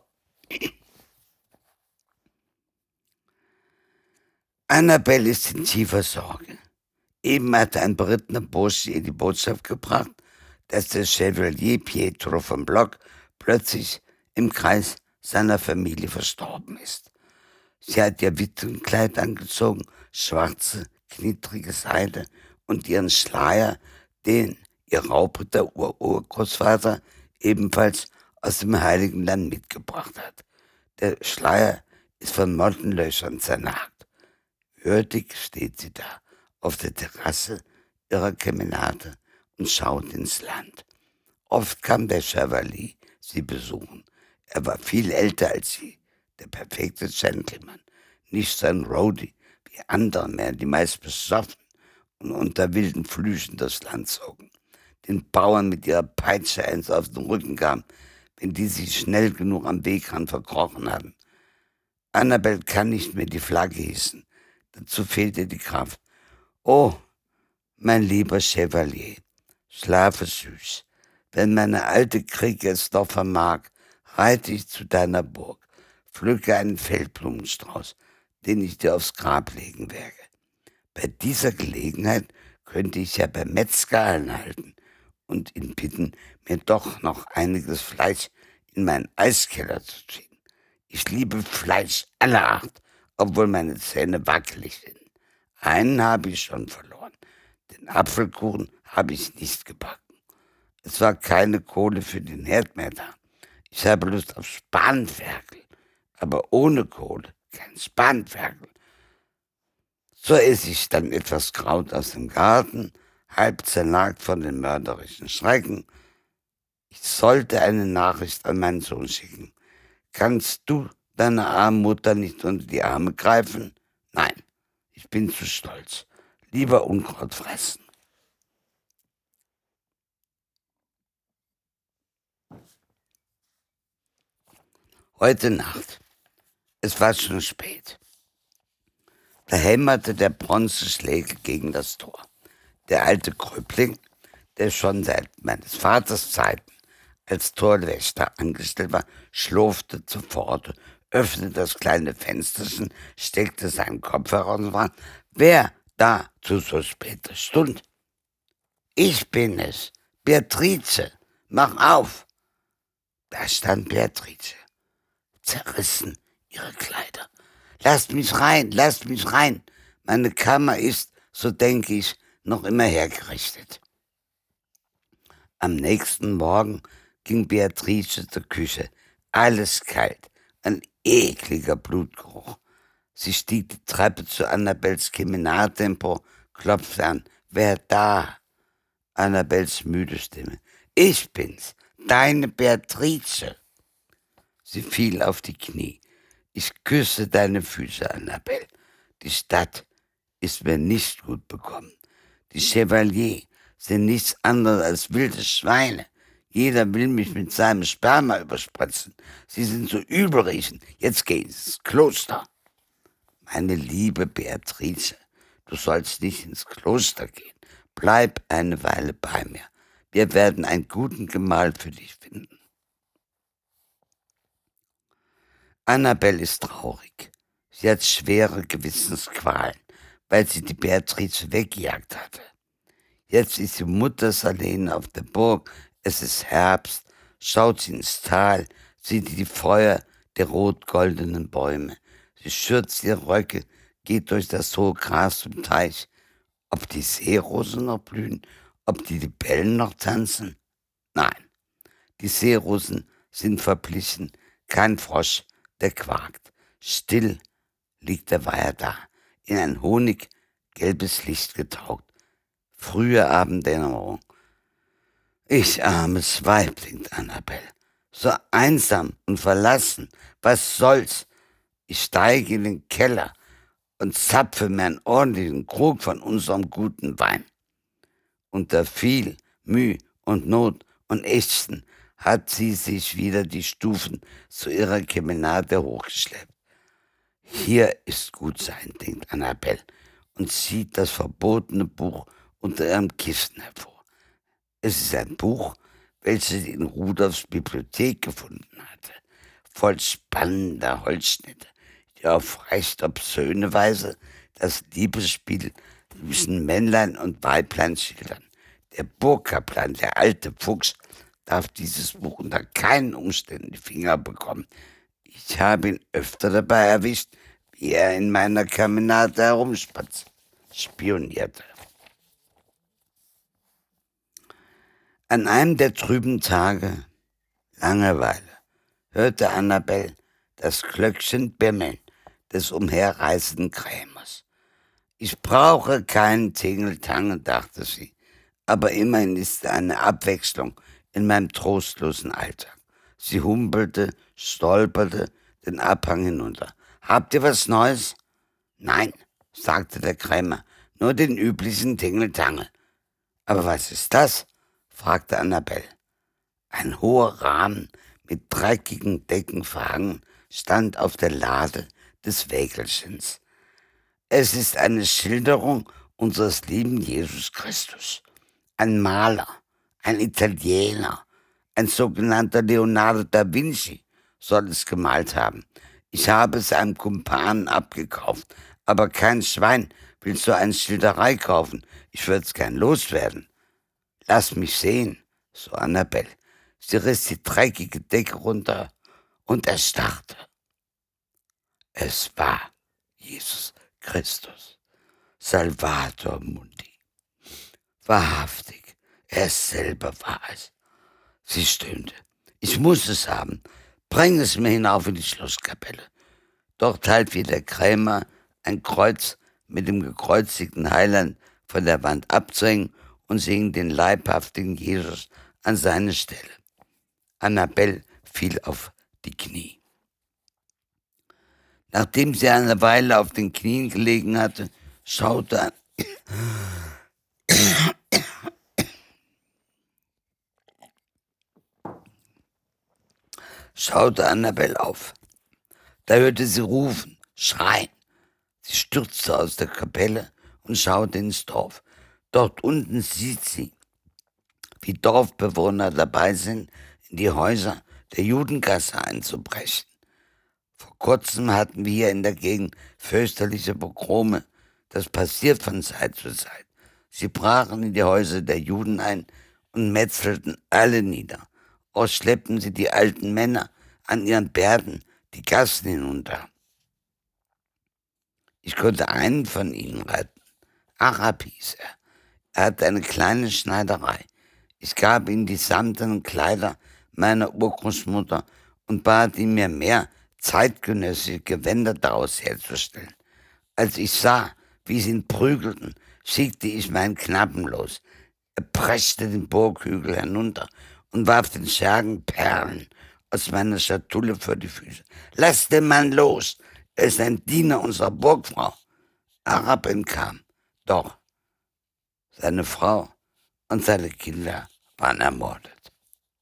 Annabel ist in tiefer Sorge. Eben hatte ein berittener Bursche ihr die Botschaft gebracht, dass der Chevalier Pietro von Block plötzlich im Kreis seiner Familie verstorben ist. Sie hat ihr Witwenkleid angezogen, schwarze, knittrige Seide und ihren Schleier, den ihr Raubritter Ururgroßvater ebenfalls aus dem Heiligen Land mitgebracht hat. Der Schleier ist von Mottenlöchern zernagt. Würdig steht sie da auf der Terrasse ihrer Kemenate und schaut ins Land. Oft kam der Chevalier sie besuchen. Er war viel älter als sie, der perfekte Gentleman, nicht so ein Roadie wie andere mehr, die meist besoffen und unter wilden Flüchen das Land zogen, den Bauern mit ihrer Peitsche eins auf den Rücken gaben, wenn die sich schnell genug am Wegrand verkrochen hatten. Annabel kann nicht mehr die Flagge hießen, dazu fehlte die Kraft. Oh, mein lieber Chevalier, schlafe süß. Wenn meine alte Krieg es doch vermag, reite ich zu deiner Burg, pflücke einen Feldblumenstrauß, den ich dir aufs Grab legen werde. Bei dieser Gelegenheit könnte ich ja beim Metzger einhalten und ihn bitten, mir doch noch einiges Fleisch in meinen Eiskeller zu ziehen. Ich liebe Fleisch aller Art, obwohl meine Zähne wackelig sind. Einen habe ich schon verloren. Den Apfelkuchen habe ich nicht gebacken. Es war keine Kohle für den Herd mehr da. Ich habe Lust auf Spanferkel, aber ohne Kohle kein Spanferkel. So esse ich dann etwas Kraut aus dem Garten, halb zernagt von den mörderischen Schrecken. Ich sollte eine Nachricht an meinen Sohn schicken. Kannst du deine arme Mutter nicht unter die Arme greifen? Nein, ich bin zu stolz. Lieber Unkraut fressen. Heute Nacht. Es war schon spät. Da hämmerte der Bronzeschlägel gegen das Tor. Der alte Kröpling, der schon seit meines Vaters Zeiten als Torwächter angestellt war, schlurfte zur Pforte, öffnete das kleine Fensterchen, steckte seinen Kopf heraus und fragte, wer da zu so später Stunde? Ich bin es, Beatrice, mach auf. Da stand Beatrice, zerrissen ihre Kleider. Lasst mich rein, lasst mich rein. Meine Kammer ist, so denke ich, noch immer hergerichtet. Am nächsten Morgen ging Beatrice zur Küche. Alles kalt, ein ekliger Blutgeruch. Sie stieg die Treppe zu Annabels Kemenate empor, klopfte an. Wer da? Annabels müde Stimme. Ich bin's, deine Beatrice. Sie fiel auf die Knie. Ich küsse deine Füße, Annabel. Die Stadt ist mir nicht gut bekommen. Die Chevalier sind nichts anderes als wilde Schweine. Jeder will mich mit seinem Sperma überspritzen. Sie sind so übelriechend. Jetzt geh ins Kloster. Meine liebe Beatrice, du sollst nicht ins Kloster gehen. Bleib eine Weile bei mir. Wir werden einen guten Gemahl für dich finden. Annabel ist traurig. Sie hat schwere Gewissensqualen, weil sie die Beatrice weggejagt hatte. Jetzt ist sie muttersallen auf der Burg, es ist Herbst, schaut sie ins Tal, sieht die Feuer der rot-goldenen Bäume. Sie schürzt ihre Röcke, geht durch das hohe Gras zum Teich. Ob die Seerosen noch blühen, ob die Libellen noch tanzen? Nein, die Seerosen sind verblichen, kein Frosch, der quakt. Still liegt der Weiher da, in ein honiggelbes Licht getaucht. Frühe Abenddämmerung. Ich armes Weib, denkt Annabel, so einsam und verlassen, was soll's? Ich steige in den Keller und zapfe mir einen ordentlichen Krug von unserem guten Wein. Unter viel Mühe und Not und Ächzen hat sie sich wieder die Stufen zu ihrer Kemenate hochgeschleppt. Hier ist gut sein, denkt Annabel und zieht das verbotene Buch unter ihrem Kissen hervor. Es ist ein Buch, welches sie in Rudolfs Bibliothek gefunden hatte, voll spannender Holzschnitte, die auf recht obszöne Weise das Liebesspiel zwischen Männlein und Weiblein schildern. Der Burgkaplan, der alte Fuchs, darf dieses Buch unter keinen Umständen die Finger bekommen. Ich habe ihn öfter dabei erwischt, wie er in meiner Kemenate herumspionierte. An einem der trüben Tage, Langeweile, hörte Annabel das Glöckchen bimmeln des umherreißenden Krämers. Ich brauche keinen Tingeltangel, dachte sie, aber immerhin ist eine Abwechslung in meinem trostlosen Alltag. Sie humpelte, stolperte den Abhang hinunter. Habt ihr was Neues? Nein, sagte der Krämer, nur den üblichen Tingeltangel. Aber was ist das? Fragte Annabel. Ein hoher Rahmen mit dreckigen Decken verhangen stand auf der Lade des Wägelchens. Es ist eine Schilderung unseres lieben Jesus Christus. Ein Maler, ein Italiener, ein sogenannter Leonardo da Vinci soll es gemalt haben. Ich habe es einem Kumpanen abgekauft, aber kein Schwein will so eine Schilderei kaufen. Ich würde es gern loswerden. Lass mich sehen, so Annabel. Sie riss die dreckige Decke runter und erstarrte. Es war Jesus Christus, Salvator Mundi. Wahrhaftig, er selber war es. Sie stöhnte. Ich muss es haben. Bring es mir hinauf in die Schlosskapelle. Dort half ihr der Krämer, ein Kreuz mit dem gekreuzigten Heiland von der Wand abzuhängen und singen den leibhaftigen Jesus an seine Stelle. Annabel fiel auf die Knie. Nachdem sie eine Weile auf den Knien gelegen hatte, schaute, schaute Annabel auf. Da hörte sie rufen, schreien. Sie stürzte aus der Kapelle und schaute ins Dorf. Dort unten sieht sie, wie Dorfbewohner dabei sind, in die Häuser der Judengasse einzubrechen. Vor kurzem hatten wir hier in der Gegend fürchterliche Pogrome. Das passiert von Zeit zu Zeit. Sie brachen in die Häuser der Juden ein und metzelten alle nieder. Auch schleppten sie die alten Männer an ihren Bärten die Gassen hinunter. Ich konnte einen von ihnen retten. Arab hieß er. Er hatte eine kleine Schneiderei. Ich gab ihm die samtenen Kleider meiner Urgroßmutter und bat ihn, mir mehr zeitgenössische Gewänder daraus herzustellen. Als ich sah, wie sie ihn prügelten, schickte ich meinen Knappen los. Er preschte den Burghügel hinunter und warf den Schergen Perlen aus meiner Schatulle vor die Füße. Lass den Mann los! Er ist ein Diener unserer Burgfrau. Arab entkam. Doch seine Frau und seine Kinder waren ermordet.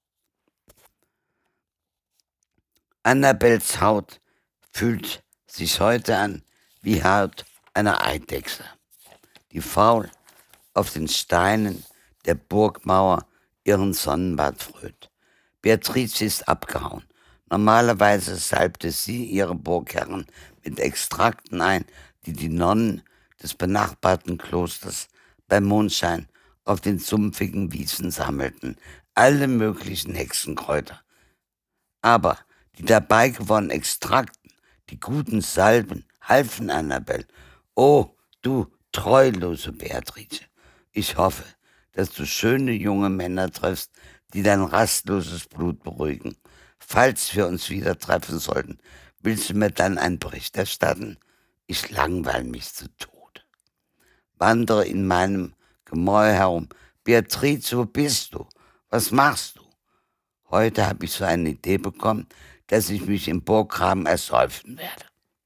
Annabels Haut fühlt sich heute an wie Haut einer Eidechse, die faul auf den Steinen der Burgmauer ihren Sonnenbad frönt. Beatrice ist abgehauen. Normalerweise salbte sie ihre Burgherren mit Extrakten ein, die die Nonnen des benachbarten Klosters bei Mondschein auf den sumpfigen Wiesen sammelten, alle möglichen Hexenkräuter. Aber die dabei gewonnenen Extrakten, die guten Salben, halfen Annabel. Oh, du treulose Beatrice, ich hoffe, dass du schöne junge Männer triffst, die dein rastloses Blut beruhigen. Falls wir uns wieder treffen sollten, willst du mir dann einen Bericht erstatten? Ich langweile mich zu Tode. Wandere in meinem Gemäuer herum. Beatrice, wo bist du? Was machst du? Heute habe ich so eine Idee bekommen, dass ich mich im Burggraben ersäufen werde.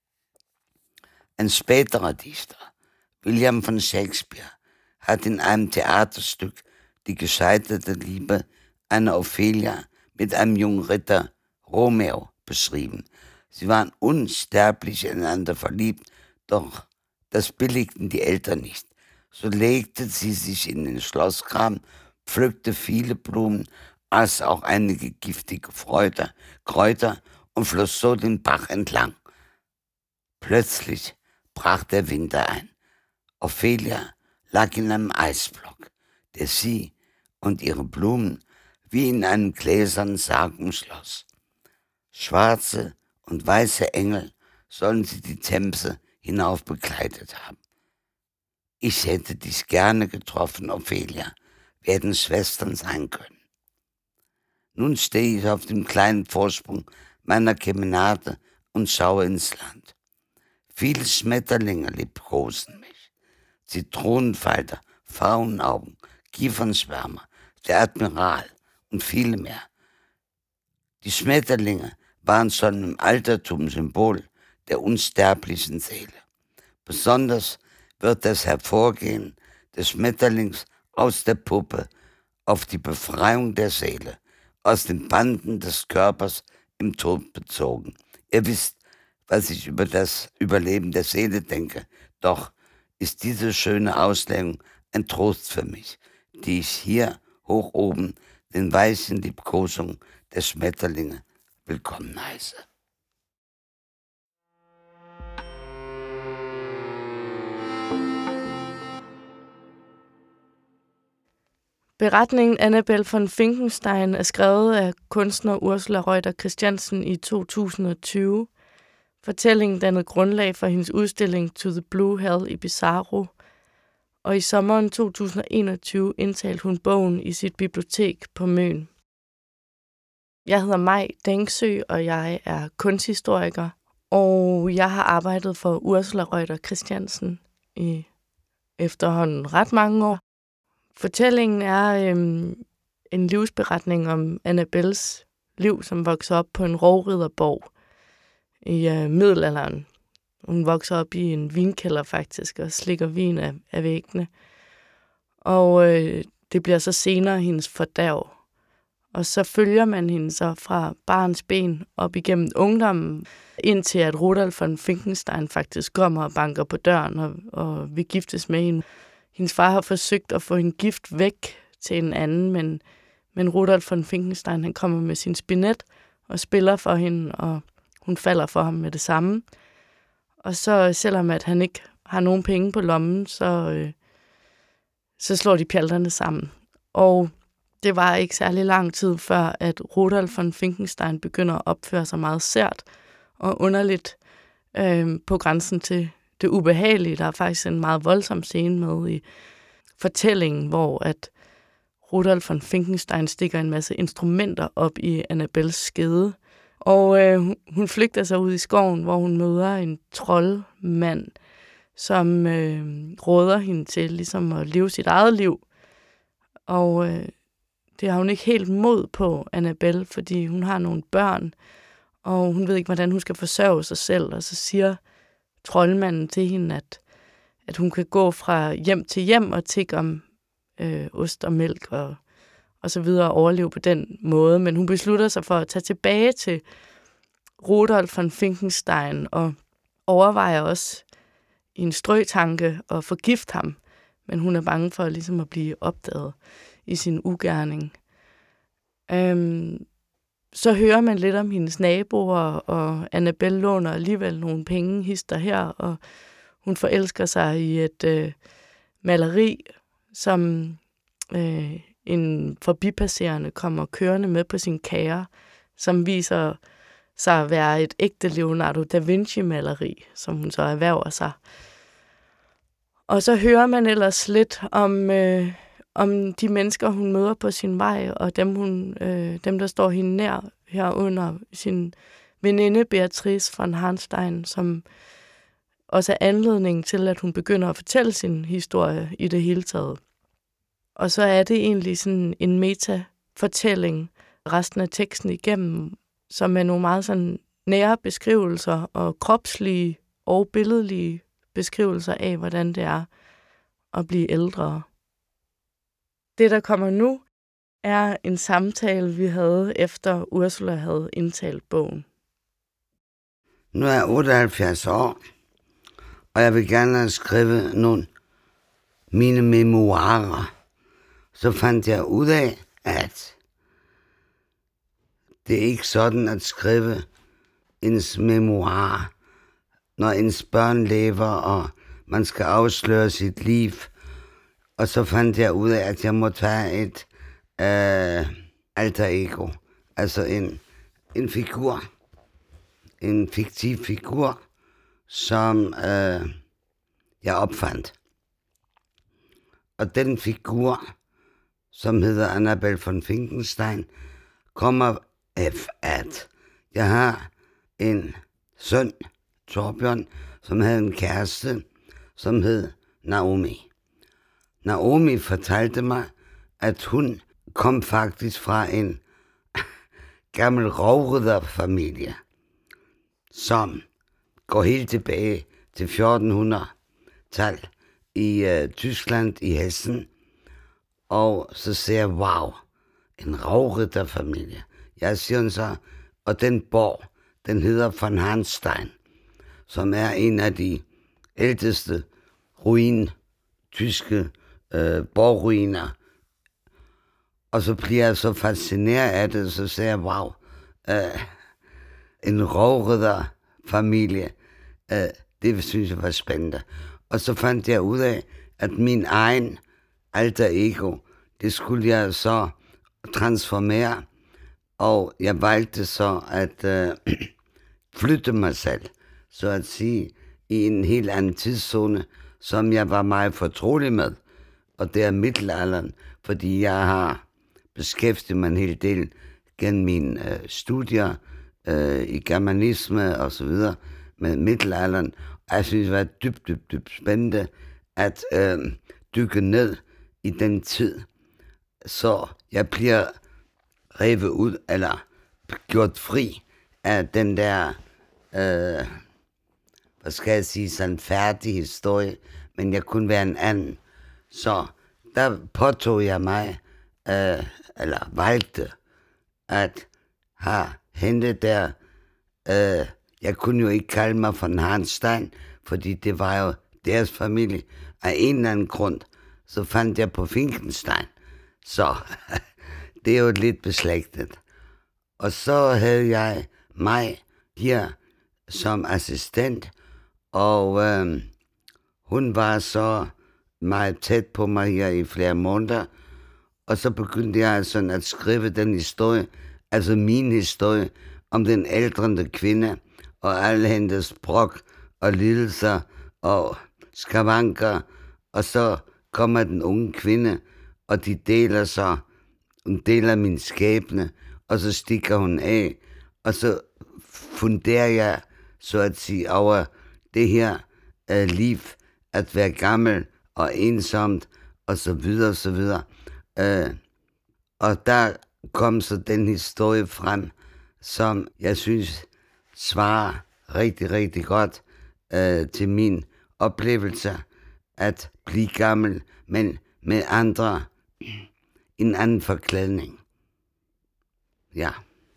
Ein späterer Dichter, William von Shakespeare, hat in einem Theaterstück die gescheiterte Liebe einer Ophelia mit einem jungen Ritter, Romeo, beschrieben. Sie waren unsterblich ineinander verliebt, doch das billigten die Eltern nicht. So legte sie sich in den Schlossgraben, pflückte viele Blumen, aß auch einige giftige Kräuter, Kräuter und floss so den Bach entlang. Plötzlich brach der Winter ein. Ophelia lag in einem Eisblock, der sie und ihre Blumen wie in einem gläsernen Sarg umschloss. Schwarze und weiße Engel sollen sie die Themse hinauf begleitet haben. Ich hätte dich gerne getroffen, Ophelia, werden Schwestern sein können. Nun stehe ich auf dem kleinen Vorsprung meiner Kemenate und schaue ins Land. Viele Schmetterlinge liebkosen mich. Zitronenfalter, Faunaugen, Kiefernschwärmer, der Admiral und viele mehr. Die Schmetterlinge waren schon im Altertum Symbol der unsterblichen Seele. Besonders wird das Hervorgehen des Schmetterlings aus der Puppe auf die Befreiung der Seele aus den Banden des Körpers im Tod bezogen. Ihr wisst, was ich über das Überleben der Seele denke. Doch ist diese schöne Auslegung ein Trost für mich, die ich hier hoch oben den weichen Liebkosungen der Schmetterlinge willkommen heiße. Beretningen Annabel von Finkenstein er skrevet af kunstner Ursula Reuter Christiansen i to tusind og tyve. Fortællingen dannede grundlag for hendes udstilling To the Blue Hell i Bizarro, og i sommeren to tusind og enogtyve indtalte hun bogen i sit bibliotek på Møn. Jeg hedder Maj Dengsø, og jeg er kunsthistoriker, og jeg har arbejdet for Ursula Reuter Christiansen i efterhånden ret mange år. Fortællingen er øhm, en livsberetning om Annabels liv, som vokser op på en rovridderborg i øh, middelalderen. Hun vokser op i en vinkælder faktisk, og slikker vin af, af væggene. Og øh, det bliver så senere hendes fordærv. Og så følger man hende så fra barns ben op igennem ungdommen, indtil at Rudolf von Finkenstein faktisk kommer og banker på døren og, og vil giftes med hende. Hendes far har forsøgt at få hende gift væk til en anden, men, men Rudolf von Finkenstein han kommer med sin spinet og spiller for hende, og hun falder for ham med det samme. Og så selvom at han ikke har nogen penge på lommen, så, øh, så slår de pjalterne sammen. Og det var ikke særlig lang tid før, at Rudolf von Finkenstein begynder at opføre sig meget sært og underligt øh, på grænsen til det ubehagelige. Der er faktisk en meget voldsom scene med i fortællingen, hvor at Rudolf von Finkenstein stikker en masse instrumenter op i Annabels skede. Og øh, hun flygter sig ud i skoven, hvor hun møder en troldmand, som øh, råder hende til ligesom at leve sit eget liv. Og øh, det har hun ikke helt mod på, Annabelle, fordi hun har nogle børn, og hun ved ikke, hvordan hun skal forsørge sig selv. Og så siger troldmanden til hende, at, at hun kan gå fra hjem til hjem og tigge om øh, ost og mælk og, og så videre og overleve på den måde. Men hun beslutter sig for at tage tilbage til Rudolf von Finkenstein og overvejer også i en strøtanke at forgifte ham. Men hun er bange for ligesom at blive opdaget i sin ugerning. Øhm, så hører man lidt om hendes naboer, og Annabelle låner alligevel nogle penge, hister her, og hun forelsker sig i et øh, maleri, som øh, en forbipasserende kommer kørende med på sin kære, som viser sig at være et ægte Leonardo da Vinci-maleri, som hun så erhverver sig. Og så hører man ellers lidt om, øh, om de mennesker, hun møder på sin vej, og dem, hun, øh, dem der står hende nær herunder sin veninde Beatrice von Harnstein, som også er anledning til, at hun begynder at fortælle sin historie i det hele taget. Og så er det egentlig sådan en meta-fortælling resten af teksten igennem, som er nogle meget sådan nære beskrivelser og kropslige og billedlige beskrivelser af, hvordan det er at blive ældre. Det, der kommer nu, er en samtale, vi havde, efter Ursula havde indtalt bogen. Nu er jeg otteoghalvfjerds år, og jeg vil gerne skrive nogle mine memoirer. Så fandt jeg ud af, at det er ikke sådan at skrive ens memoirer, når ens børn lever, og man skal afsløre sit liv. Og så fandt jeg ud af, at jeg må tage et øh, alter ego, altså en, en figur, en fiktiv figur, som øh, jeg opfandt. Og den figur, som hedder Annabelle von Finkenstein, kommer af, at jeg har en søn, Torbjørn, som havde en kæreste, som hed Naomi. Naomi fortalte mig, at hun kom faktisk fra en gammel rovridderfamilie, som går helt tilbage til fjortenhundredetallet i øh, Tyskland, i Hessen. Og så siger jeg, wow, en rovridderfamilie. Jeg siger så, og den borg, den hedder von Harnstein, som er en af de ældste ruin, tyske øh, borgruiner. Og så bliver jeg så fascineret af det, så siger jeg, wow, øh, en rovridderfamilie, øh, det synes jeg var spændende. Og så fandt jeg ud af, at min egen alter ego, det skulle jeg så transformere, og jeg valgte så at øh, flytte mig selv, så at sige, i en helt anden tidszone, som jeg var meget fortrolig med, og det er middelalderen, fordi jeg har beskæftiget mig en hel del gennem mine øh, studier øh, i germanisme og så videre med middelalderen, og jeg synes, det var dybt, dybt, dybt spændende at øh, dykke ned i den tid, så jeg bliver revet ud, eller gjort fri af den der, øh, hvad skal jeg sige, sådan færdig historie, men jeg kunne være en anden. Så der påtog jeg mig, øh, eller valgte, at have hende der, øh, jeg kunne jo ikke kalde mig von Harnstein, fordi det var jo deres familie. Af en eller anden grund, så fandt jeg på Finkenstein. Så det er jo lidt beslægtet. Og så havde jeg mig her som assistent, og øh, hun var så meget tæt på mig her i flere måneder, og så begyndte jeg sådan at skrive den historie, altså min historie, om den ældrende kvinde, og alle hendes brok og lidelser og skavanker, og så kommer den unge kvinde, og de deler så, hun deler min skæbne, og så stikker hun af, og så funderer jeg, så at sige, over det her uh, liv, at være gammel og ensomt, og så videre, og så videre. Uh, og der kom så den historie frem, som jeg synes svarer rigtig, rigtig godt uh, til min oplevelse at blive gammel, men med andre, en anden forklædning. Ja.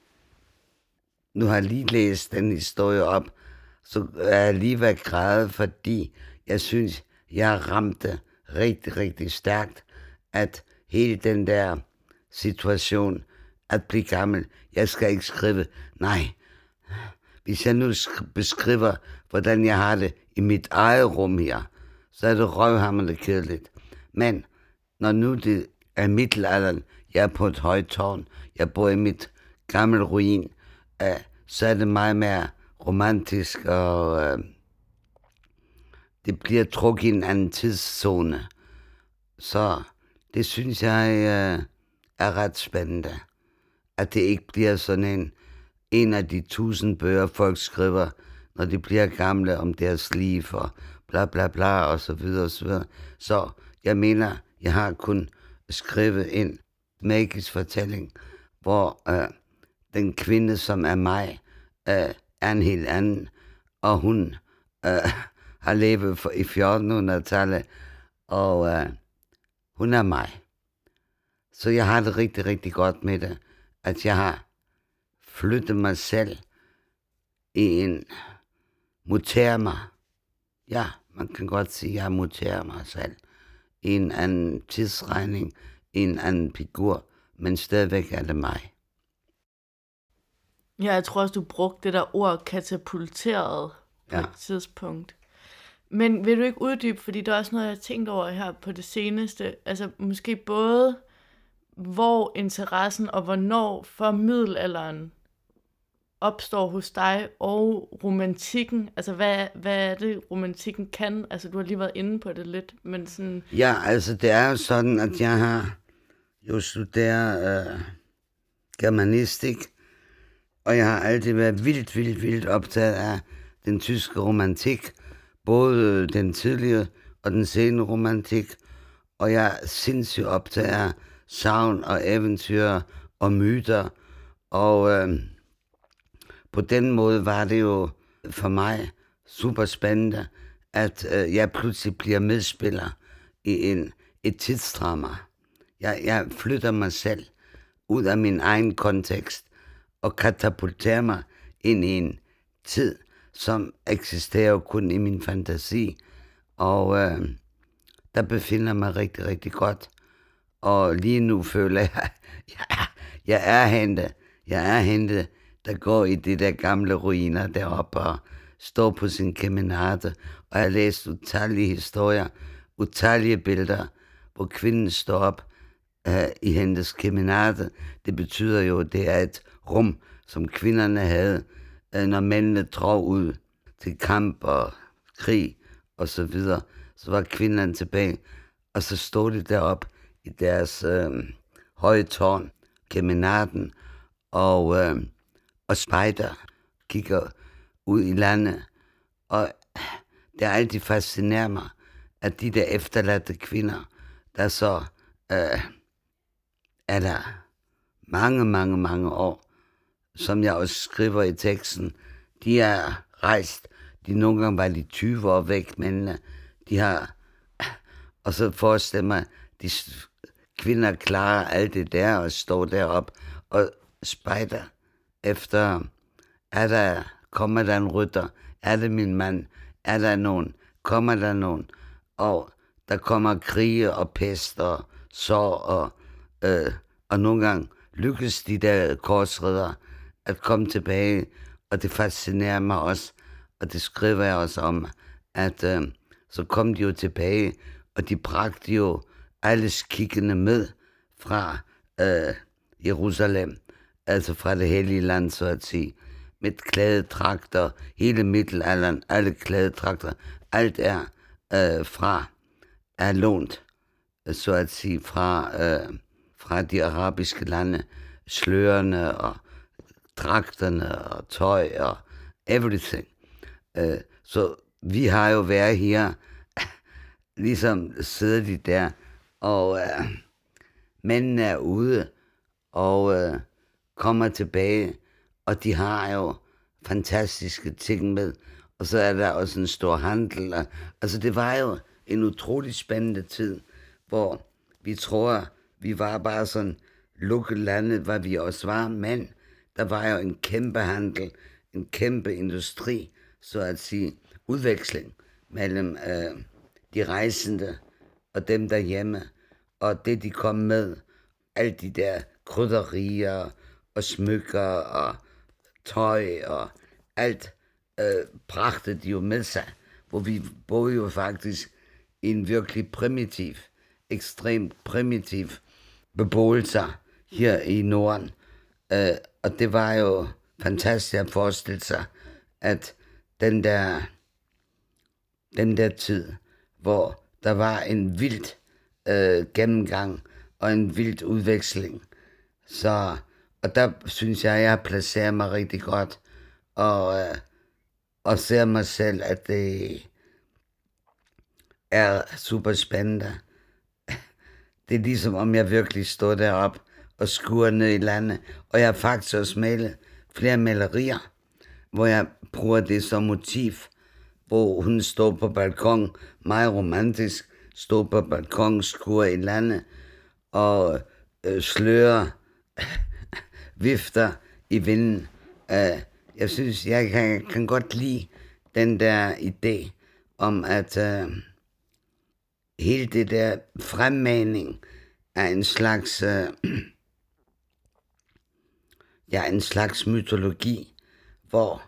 Nu har jeg lige læst den historie op, så er jeg lige ved at græde, fordi jeg synes, jeg ramte rigtig, rigtig stærkt, at hele den der situation at blive gammel. Jeg skal ikke skrive. Nej. Hvis jeg nu beskriver, hvordan jeg har det i mit eget rum her, så er det røvhamrende kedeligt. Men når nu det er middelalderen, jeg er på et højt tårn, jeg bor i mit gamle ruin, øh, så er det meget mere romantisk, og øh, det bliver trukket i en anden tidszone. Så det synes jeg øh, er ret spændende. At det ikke bliver sådan en, en af de tusind bøger, folk skriver, når de bliver gamle om deres liv og bla bla bla og så videre og så videre. Så jeg mener, jeg har kun skrevet en magisk fortælling, hvor øh, den kvinde, som er mig, øh, er en helt anden, og hun øh, har levet for, i fjortenhundredetallet, og øh, hun er mig. Så jeg har det rigtig, rigtig godt med det, at jeg har flyttet mig selv i en mutere mig. Ja, man kan godt sige, at jeg muterer mig selv i en anden tidsregning, i en anden figur, men stadigvæk er det mig. Ja, jeg tror også, du brugte det der ord katapulteret på Ja. et tidspunkt. Men vil du ikke uddybe, fordi det er også noget, jeg har tænkt over her på det seneste, altså måske både hvor interessen og hvornår for middelalderen opstår hos dig, og romantikken, altså hvad, hvad er det, romantikken kan? Altså du har lige været inde på det lidt, men sådan... Ja, altså det er jo sådan, at jeg har jo studeret øh, germanistik, og jeg har altid været vildt, vildt, vildt optaget af den tyske romantik, både den tidlige og den sene romantik, og jeg er sindssygt optaget af sagn og eventyr og myter, og øh, på den måde var det jo for mig super spændende, at øh, jeg pludselig bliver medspiller i en, et tidsdrama. Jeg, jeg flytter mig selv ud af min egen kontekst og katapulterer mig ind i en tid, som eksisterer kun i min fantasi. Og øh, der befinder mig rigtig, rigtig godt. Og lige nu føler jeg, jeg, jeg er hente, jeg er hente, der går i de der gamle ruiner deroppe og står på sin kemenate. Og jeg har læst utallige historier, utallige billeder, hvor kvinden står op uh, i hendes kemenate. Det betyder jo, at det er et rum, som kvinderne havde, uh, når mændene drog ud til kamp og krig og så videre. Så var kvinderne tilbage, og så stod de deroppe i deres uh, høje tårn, kemenaten, og, uh, og spejder, kigger ud i landet. Og det er altid fascinerer mig, at de der efterladte kvinder, der så øh, er der mange, mange, mange år, som jeg også skriver i teksten, de er rejst, de nogle gange var de tyve år væk, men de har, og så forestiller mig, de kvinder klarer alt det der og står derop og spejder efter, er der, kommer der en rytter, er det min mand, er der nogen, kommer der nogen, og der kommer krige og pest og sår, og, øh, og nogle gange lykkes de der korsridder at komme tilbage, og det fascinerer mig også, og det skriver jeg også om, at øh, så kom de jo tilbage, og de bragte jo alle skikkene med fra øh, Jerusalem, altså fra det hellige land, så at sige, med klædedragter, hele middelalderen, alle klædedragter, alt er øh, fra, er lånt, så at sige, fra, øh, fra de arabiske lande, slørene og dragterne og tøj og everything. Øh, så vi har jo været her, ligesom sidder de der, og øh, mændene er ude og øh, kommer tilbage, og de har jo fantastiske ting med, og så er der også en stor handel. Og, altså det var jo en utrolig spændende tid, hvor vi tror, vi var bare sådan lukket landet, hvad vi også var, men der var jo en kæmpe handel, en kæmpe industri, så at sige, udveksling mellem øh, de rejsende og dem derhjemme, og det de kom med, alle de der krydderier og smykker og tøj og alt øh, bragte de jo med sig, hvor vi boede jo faktisk i en virkelig primitiv, ekstremt primitiv beboelse her i Norden. Øh, og det var jo fantastisk at forestille sig, at den der, den der tid, hvor der var en vild øh, gennemgang og en vild udveksling. Så, og der synes jeg, jeg placerer mig rigtig godt, og, øh, og ser mig selv, at det er super spændende. Det er ligesom, om jeg virkelig står deroppe og skuer ned i landet, og jeg har faktisk også malet flere malerier, hvor jeg bruger det som motiv, hvor hun står på balkon, meget romantisk, står på balkon, skuer i landet, og øh, slører, vifter i vinden. Uh, jeg synes, jeg kan, kan godt lide den der idé om, at uh, hele det der fremmaning af en slags, uh, ja, en slags mytologi, hvor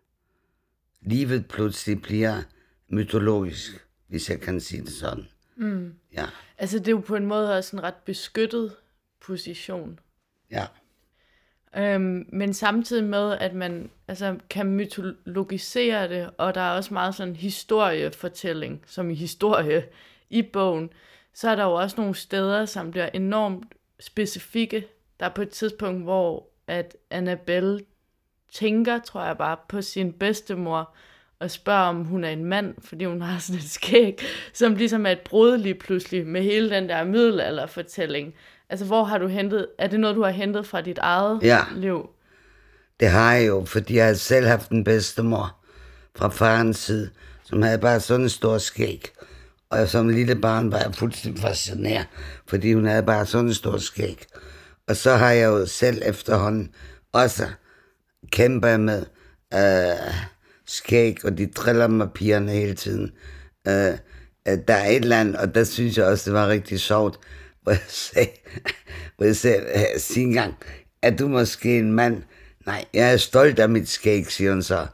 livet pludselig bliver mytologisk, hvis jeg kan sige det sådan. Mm. Ja. Altså det er jo på en måde også en ret beskyttet position. Ja. Øhm, men samtidig med, at man altså, kan mytologisere det, og der er også meget sådan historiefortælling, som i historie i bogen, så er der jo også nogle steder, som bliver enormt specifikke. Der er på et tidspunkt, hvor at Annabelle tænker, tror jeg bare, på sin bedstemor, og spørger, om hun er en mand, fordi hun har sådan et skæg, som ligesom er et brud lige pludselig med hele den der middelalderfortælling. Altså, hvor har du hentet, er det noget, du har hentet fra dit eget ja. liv? Det har jeg jo, fordi jeg har selv haft en bedstemor fra farens side, som havde bare sådan en stor skæg. Og som lille barn var jeg fuldstændig fascineret, fordi hun havde bare sådan en stor skæg. Og så har jeg jo selv efterhånden også kæmpet med øh, skæg, og de driller mig pigerne hele tiden. Øh, der er et eller andet, og der synes jeg også, det var rigtig sjovt, hvor jeg sagde, hvor jeg sagde, sige engang, er du måske en mand? Nej, jeg er stolt af mit skæg, siger hun så.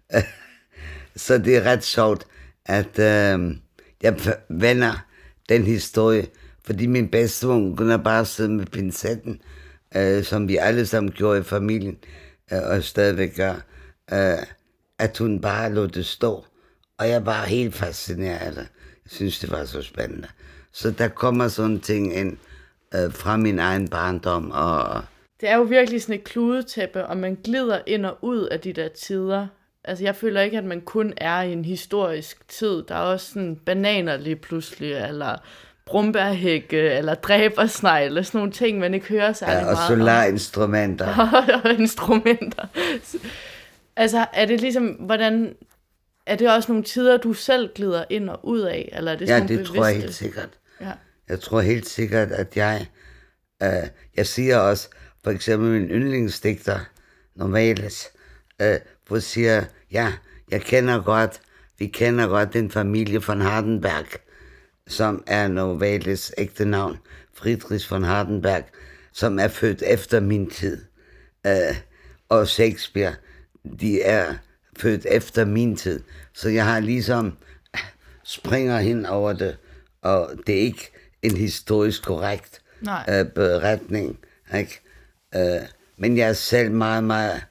Så det er ret sjovt, at øh, jeg vender den historie, fordi min bedstemor kunne bare sidde med pincetten, øh, som vi alle sammen gjorde i familien, øh, og stadigvæk gør, øh, at hun bare lod det stå. Og jeg var helt fascineret af det. Jeg synes, det var så spændende. Så der kommer sådan ting ind øh, fra min egen barndom. Og det er jo virkelig sådan et kludetæppe, og man glider ind og ud af de der tider. Altså, jeg føler ikke, at man kun er i en historisk tid. Der er også sådan bananer lige pludselig, eller brumbærhække, eller dræbersnegle, sådan nogle ting, man ikke hører særlig ja, og meget solarinstrumenter. og instrumenter. Altså, er det ligesom, hvordan... Er det også nogle tider, du selv glider ind og ud af? Eller er det ja, sådan det bevidste? tror jeg helt sikkert. Ja. Jeg tror helt sikkert, at jeg... Øh, jeg siger også, for eksempel min yndlingsdigter, Novalis, øh, hvor siger, ja, jeg kender godt, vi kender godt den familie von Hardenberg, som er Novalis ægte navn, Friedrich von Hardenberg, som er født efter min tid. Øh, og Shakespeare, de er født efter min tid. Så jeg har ligesom springer hen over det, og det er ikke en historisk korrekt øh, beretning. Ikke? Øh, men jeg er selv meget, meget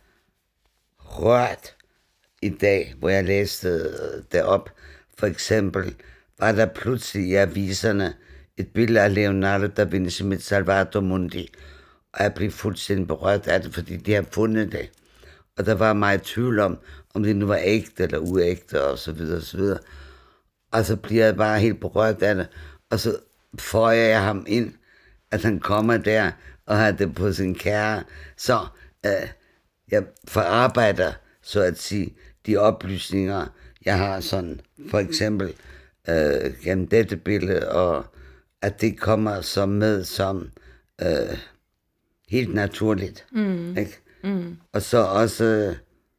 rørt i dag, hvor jeg læste det op. For eksempel var der pludselig i aviserne et billede af Leonardo da Vinci med Salvator Mundi, og jeg blev fuldstændig berørt af det, fordi de har fundet det. Og der var meget tvivl om, om det nu var ægte eller uægte, og så videre, og så videre. Og så bliver jeg bare helt berørt af det, og så føjer jeg ham ind, at han kommer der, og har det på sin kære. Så øh, jeg forarbejder, så at sige, de oplysninger, jeg har sådan, for eksempel øh, gennem dette billede, og at det kommer som med som øh, helt naturligt. Mm. Ikke? Mm. Og så også,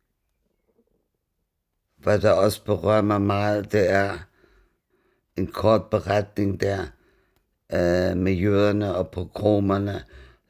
hvad der også berører mig meget, det er en kort beretning der øh, med jøderne og pogromerne,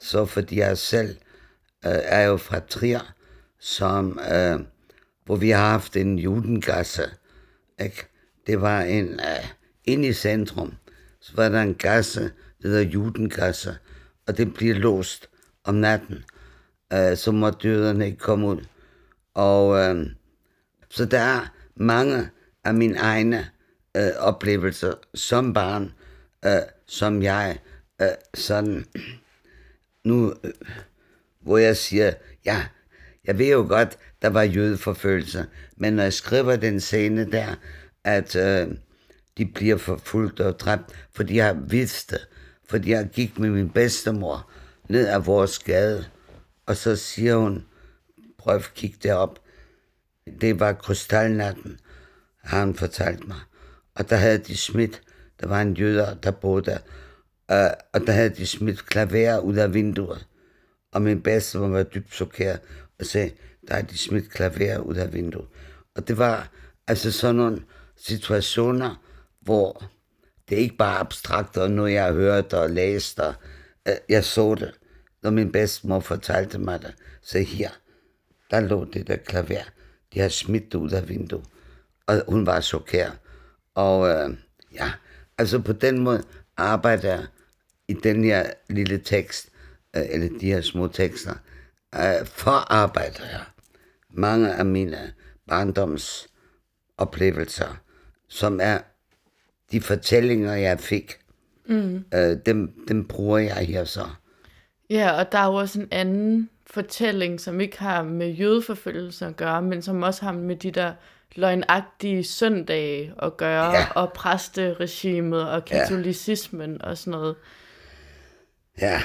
så fordi jeg selv øh, er jo fra Trier, som, øh, hvor vi har haft en judengasse, ikke? Det var en, øh, inde i centrum, så var der en gasse, der hedder judengasse, og det bliver låst om natten, øh, så må døderne ikke komme ud. Og øh, så der er mange af mine egne øh, oplevelser som barn, øh, som jeg øh, sådan, nu, øh, hvor jeg siger, ja, jeg ved jo godt, der var jødeforfølgelser, men når jeg skriver den scene der, at øh, de bliver forfulgt og dræbt, fordi jeg vidste, fordi jeg gik med min bedstemor ned ad vores gade, og så siger hun, prøv at kigge derop, det var krystalnatten, har hun fortalt mig, og der havde de smidt, der var en jøder, der boede der, øh, og der havde de smidt klaver ud af vinduet, og min bedstemor var dybt chokeret, og sagde, der er de smidt klaver ud af vinduet. Og det var altså sådan nogle situationer, hvor det ikke bare er abstrakt, og noget jeg har hørt og læst, og øh, jeg så det, når min bedstemor fortalte mig det. Så her, der lå det der klaver, de har smidt det ud af vinduet, og hun var chokeret. Og øh, ja, altså på den måde arbejder jeg i den her lille tekst, øh, eller de her små tekster, øh, forarbejder jeg mange af mine barndoms oplevelser, som er de fortællinger, jeg fik. Mm. Øh, dem, dem bruger jeg her så. Ja, og der er jo også en anden fortælling, som ikke har med jødeforfølgelser at gøre, men som også har med de der løgnagtige søndage at gøre, ja. Og præsteregimet og katolicismen ja. Og sådan noget. Ja.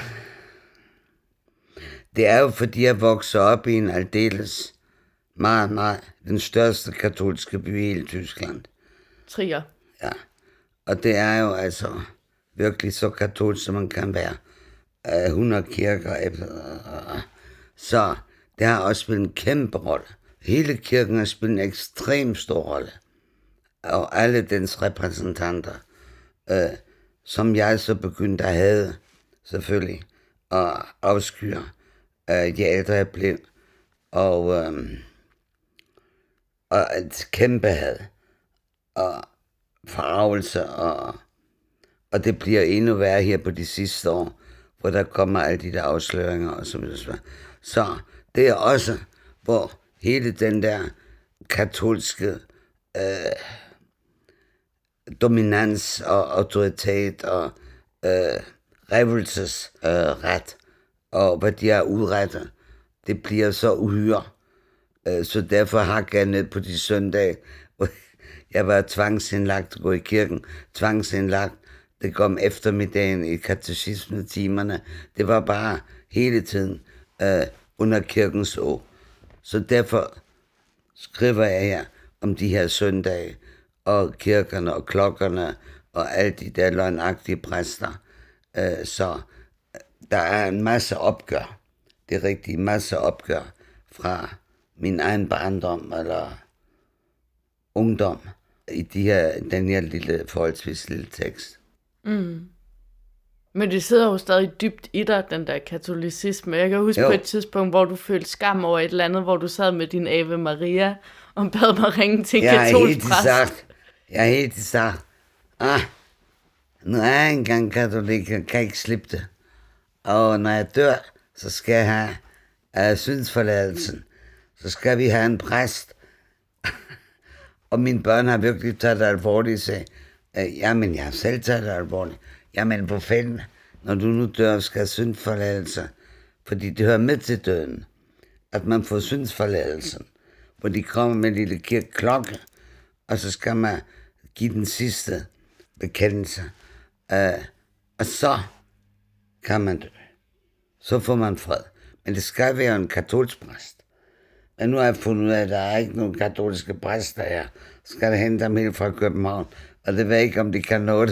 Det er jo fordi, jeg vokser op i en aldeles meget, meget, den største katolske by i hele Tyskland. Trier. Ja, og det er jo altså virkelig så katolsk, som man kan være. Uh, hundrede kirker efter. Uh, så det har også spillet en kæmpe rolle. Hele kirken har spillet en ekstremt stor rolle. Og alle dens repræsentanter, uh, som jeg så begyndte at have, selvfølgelig, og afskyer, uh, de ældre jeg blev. Og, um, og et kæmpe had. Og forarvelse, og, og det bliver endnu værre her på de sidste år, hvor der kommer alle de der afsløringer og så videre. Så det er også, hvor hele den der katolske øh, dominans og autoritet og øh, revelsesret, øh, og hvad de har udrettet, det bliver så uhyre. Øh, så derfor har jeg ned på de søndage, hvor jeg var tvangsindlagt at gå i kirken, tvangsindlagt, det kom eftermiddagen i katekismetimerne. Det var bare hele tiden øh, under kirkens år. Så derfor skriver jeg her om de her søndage, og kirkerne og klokkerne, og alle de der løgnagtige præster. Øh, så der er en masse opgør. Det er rigtig masse opgør fra min egen barndom eller ungdom i de her, den her lille, forholdsvis lille tekst. Mm. Men det sidder jo stadig dybt i dig, den der katolicisme. Jeg kan huske jo. På et tidspunkt, hvor du følte skam over et eller andet, hvor du sad med din Ave Maria og bad mig ringe til en katolsk præst. Sagt, jeg har helt sagt, ah, nu er jeg engang katolik, jeg kan ikke slippe det. Og når jeg dør, så skal jeg have uh, syndsforladelsen. Så skal vi have en præst. Og mine børn har virkelig taget det alvorligt, sagde, jamen, jeg har selv taget det alvorligt. Jamen, hvor fanden, når du nu dør, skal have syndsforladelse. Fordi det hører med til døden, at man får syndsforladelsen. Hvor de kommer med en lille kirkeklokke, og så skal man give den sidste bekendelse. Uh, og så kan man dø. Så får man fred. Men det skal være en katolsk præst. Men nu har jeg fundet ud af, at der er ikke nogen katolske præster her. Så skal jeg hente dem helt fra København. Og det ved jeg ikke, om de kan nå det.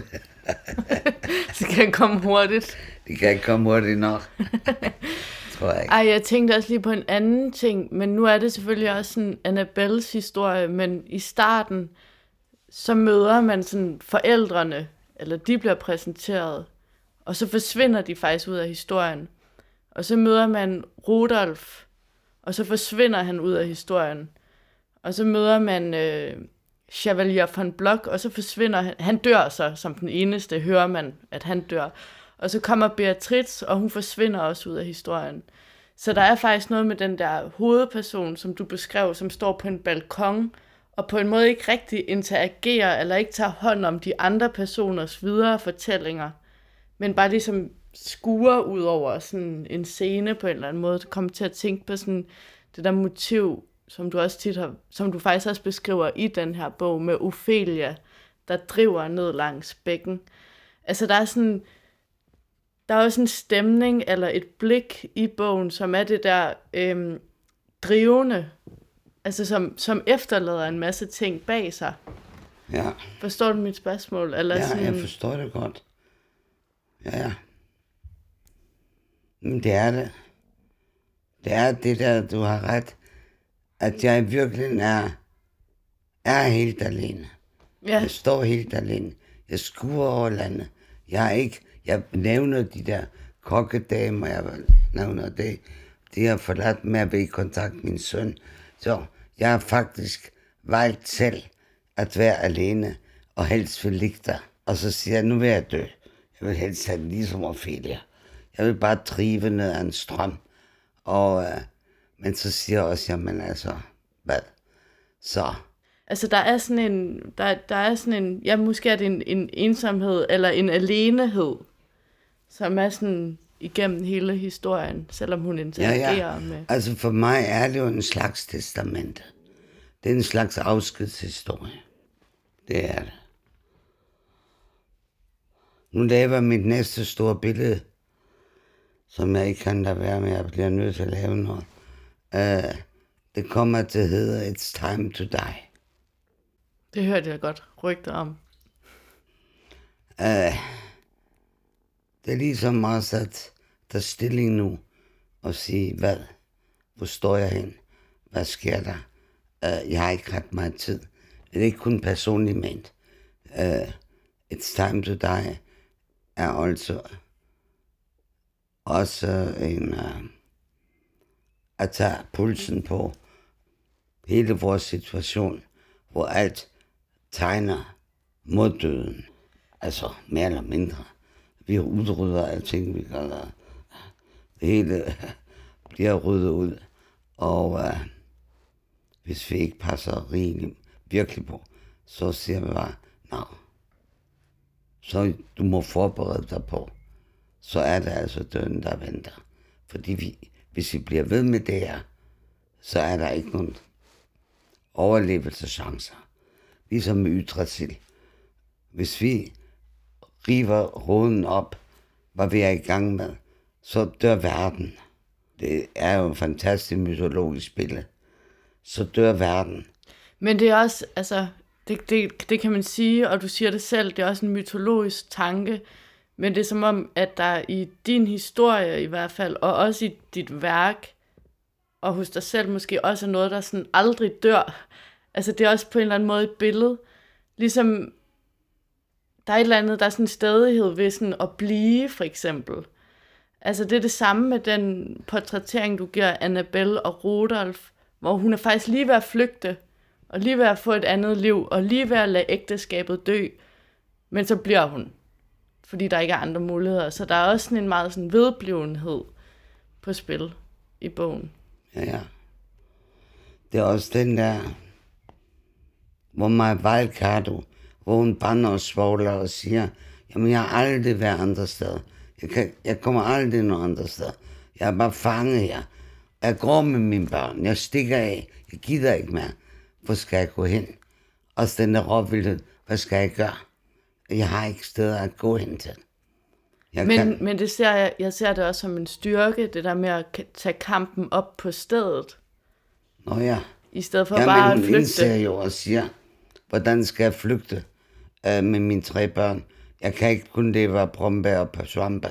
Det kan komme hurtigt. Det kan ikke komme hurtigt nok. Tror jeg ikke. Ej, jeg tænkte også lige på en anden ting. Men nu er det selvfølgelig også sådan Annabelles historie. Men i starten, så møder man sådan forældrene. Eller de bliver præsenteret. Og så forsvinder de faktisk ud af historien. Og så møder man Rudolf, og så forsvinder han ud af historien. Og så møder man øh, Chevalier von Block, og så forsvinder han. Han dør så som den eneste, hører man, at han dør. Og så kommer Beatrix, og hun forsvinder også ud af historien. Så der er faktisk noget med den der hovedperson, som du beskrev, som står på en balkon, og på en måde ikke rigtig interagerer, eller ikke tager hånd om de andre personers videre fortællinger, men bare ligesom skuer ud over sådan en scene på en eller anden måde. Du kommer til at tænke på sådan det der motiv, som du også tit har, som du faktisk også beskriver i den her bog, med Ophelia, der driver ned langs bækken. Altså der er sådan, der er også en stemning eller et blik i bogen, som er det der øhm, drivende, altså som, som efterlader en masse ting bag sig. Ja. Forstår du mit spørgsmål? Eller Ja, sådan... jeg forstår det godt. Ja, ja. Men det er det. Det er det der, du har ret, at jeg virkelig er, er helt alene. Ja. Jeg står helt alene. Jeg skuer over landet. Jeg er ikke, jeg nævner de der kokkedamer, jeg nævner det. De har forladt med at være i kontakt med min søn. Så jeg har faktisk valgt selv at være alene, og helst vil ligge der. Og så siger jeg, nu vil jeg dø. Jeg vil helst have det ligesom Ophelia. Jeg vil bare drive ned ad en strøm. Og, øh, men så siger jeg også, jamen altså, hvad? Så. Altså der er sådan en, der, der er sådan en, ja måske er det en, en ensomhed, eller en alenehed, som er sådan igennem hele historien, selvom hun interagerer ja, ja. med. Altså for mig er det jo en slags testamente. Det er en slags afskedshistorie. Det er det. Nu laver mit næste store billede, som jeg ikke kan lade være med, jeg bliver nødt til at lave noget. Uh, det kommer til at hedde It's Time to Die. Det hørte jeg godt rygter om. Uh, det er ligesom også at tage stilling nu og sige, hvad? Hvor står jeg hen? Hvad sker der? Uh, jeg har ikke ret meget tid. Det er ikke kun personligt ment. Uh, It's Time to Die er altså også en uh, at tage pulsen på hele vores situation, hvor alt tegner mod døden. Altså mere eller mindre. Vi udrydder alting, vi kalder det hele bliver ryddet ud. Og uh, hvis vi ikke passer rigeligt virkelig på, så siger vi bare, nå, så du må forberede dig på, så er det altså døden, der venter. Fordi vi, hvis vi bliver ved med det her, så er der ikke nogen overlevelseschancer. Ligesom med Yggdrasil. Hvis vi river roden op, hvad vi er i gang med, så dør verden. Det er jo en fantastisk mytologisk billede. Så dør verden. Men det er også, altså, det, det, det kan man sige, og du siger det selv, det er også en mytologisk tanke, men det er som om, at der i din historie i hvert fald, og også i dit værk, og hos dig selv måske også er noget, der sådan aldrig dør. Altså det er også på en eller anden måde et billede. Ligesom der er et eller andet, der er sådan en stadighed ved sådan at blive, for eksempel. Altså det er det samme med den portrættering, du giver Annabelle og Rudolf, hvor hun er faktisk lige ved at flygte, og lige ved at få et andet liv, og lige ved at lade ægteskabet dø, men så bliver hun, fordi der ikke er andre muligheder. Så der er også sådan en meget sådan vedblivenhed på spil i bogen. Ja, ja. Det er også den der, hvor mig Valcardo, hvor hun bander og svogler og siger, jamen jeg har aldrig været andre steder. Jeg, kan, jeg kommer aldrig nogen andre steder. Jeg er bare fanget her. Jeg går med mine børn. Jeg stikker af. Jeg gider ikke mere. Hvor skal jeg gå hen? Også den der råvildhed. Hvad skal jeg gøre? Jeg har ikke steder at gå hen til. Jeg men, kan... men det ser jeg, jeg ser det også som en styrke, det der med at tage kampen op på stedet. Nå ja. I stedet for ja, bare at flygte. flygte. Indser jo og siger, hvordan skal jeg flygte øh, med mine tre børn? Jeg kan ikke kun leve af brombær og pasvampe.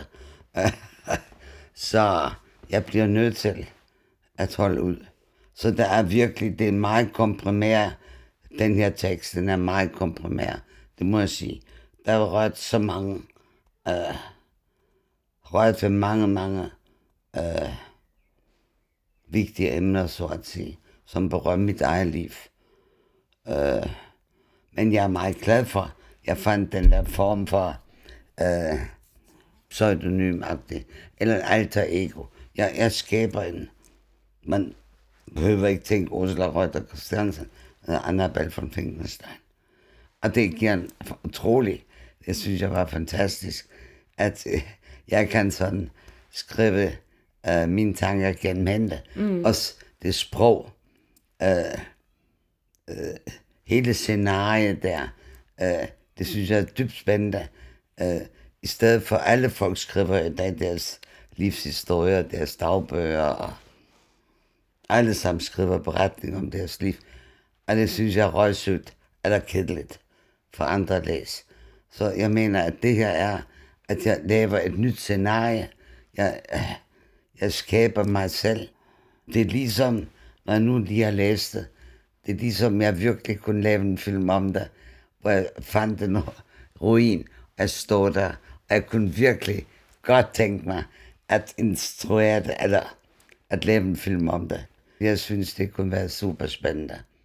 Så jeg bliver nødt til at holde ud. Så der er virkelig, det er meget komprimeret. Den her tekst, den er meget komprimeret. Det må jeg sige. Der er rørt så mange, øh, rørt ved mange, mange øh, vigtige emner, så at sige, som berører mit eget liv. Øh, men jeg er meget glad for, at jeg fandt den der form for øh, pseudonymagtig, eller alter ego. Jeg, jeg skaber en, man behøver ikke tænke Ursula Reuter Christiansen, eller Annabelle von Finkenstein. Og det giver en utrolig, det synes jeg var fantastisk, at øh, jeg kan sådan skrive øh, mine tanker gennem hende. Mm. Også det sprog, øh, øh, hele scenariet der, øh, det synes jeg er dybt spændende. Øh, I stedet for alle folk skriver i dag deres livshistorier, deres dagbøger, og alle sammen skriver beretninger om deres liv. Og det synes jeg er røgsøgt eller kedeligt for andre at læse. Så jeg mener, at det her er, at jeg laver et nyt scenarie. Jeg, jeg skaber mig selv. Det er ligesom, når jeg nu lige har læst det, det er ligesom, jeg virkelig kunne lave en film om det, hvor jeg fandt en ruin, og jeg stod der, og jeg kunne virkelig godt tænke mig at instruere det, eller at lave en film om det. Jeg synes, det kunne være super spændende.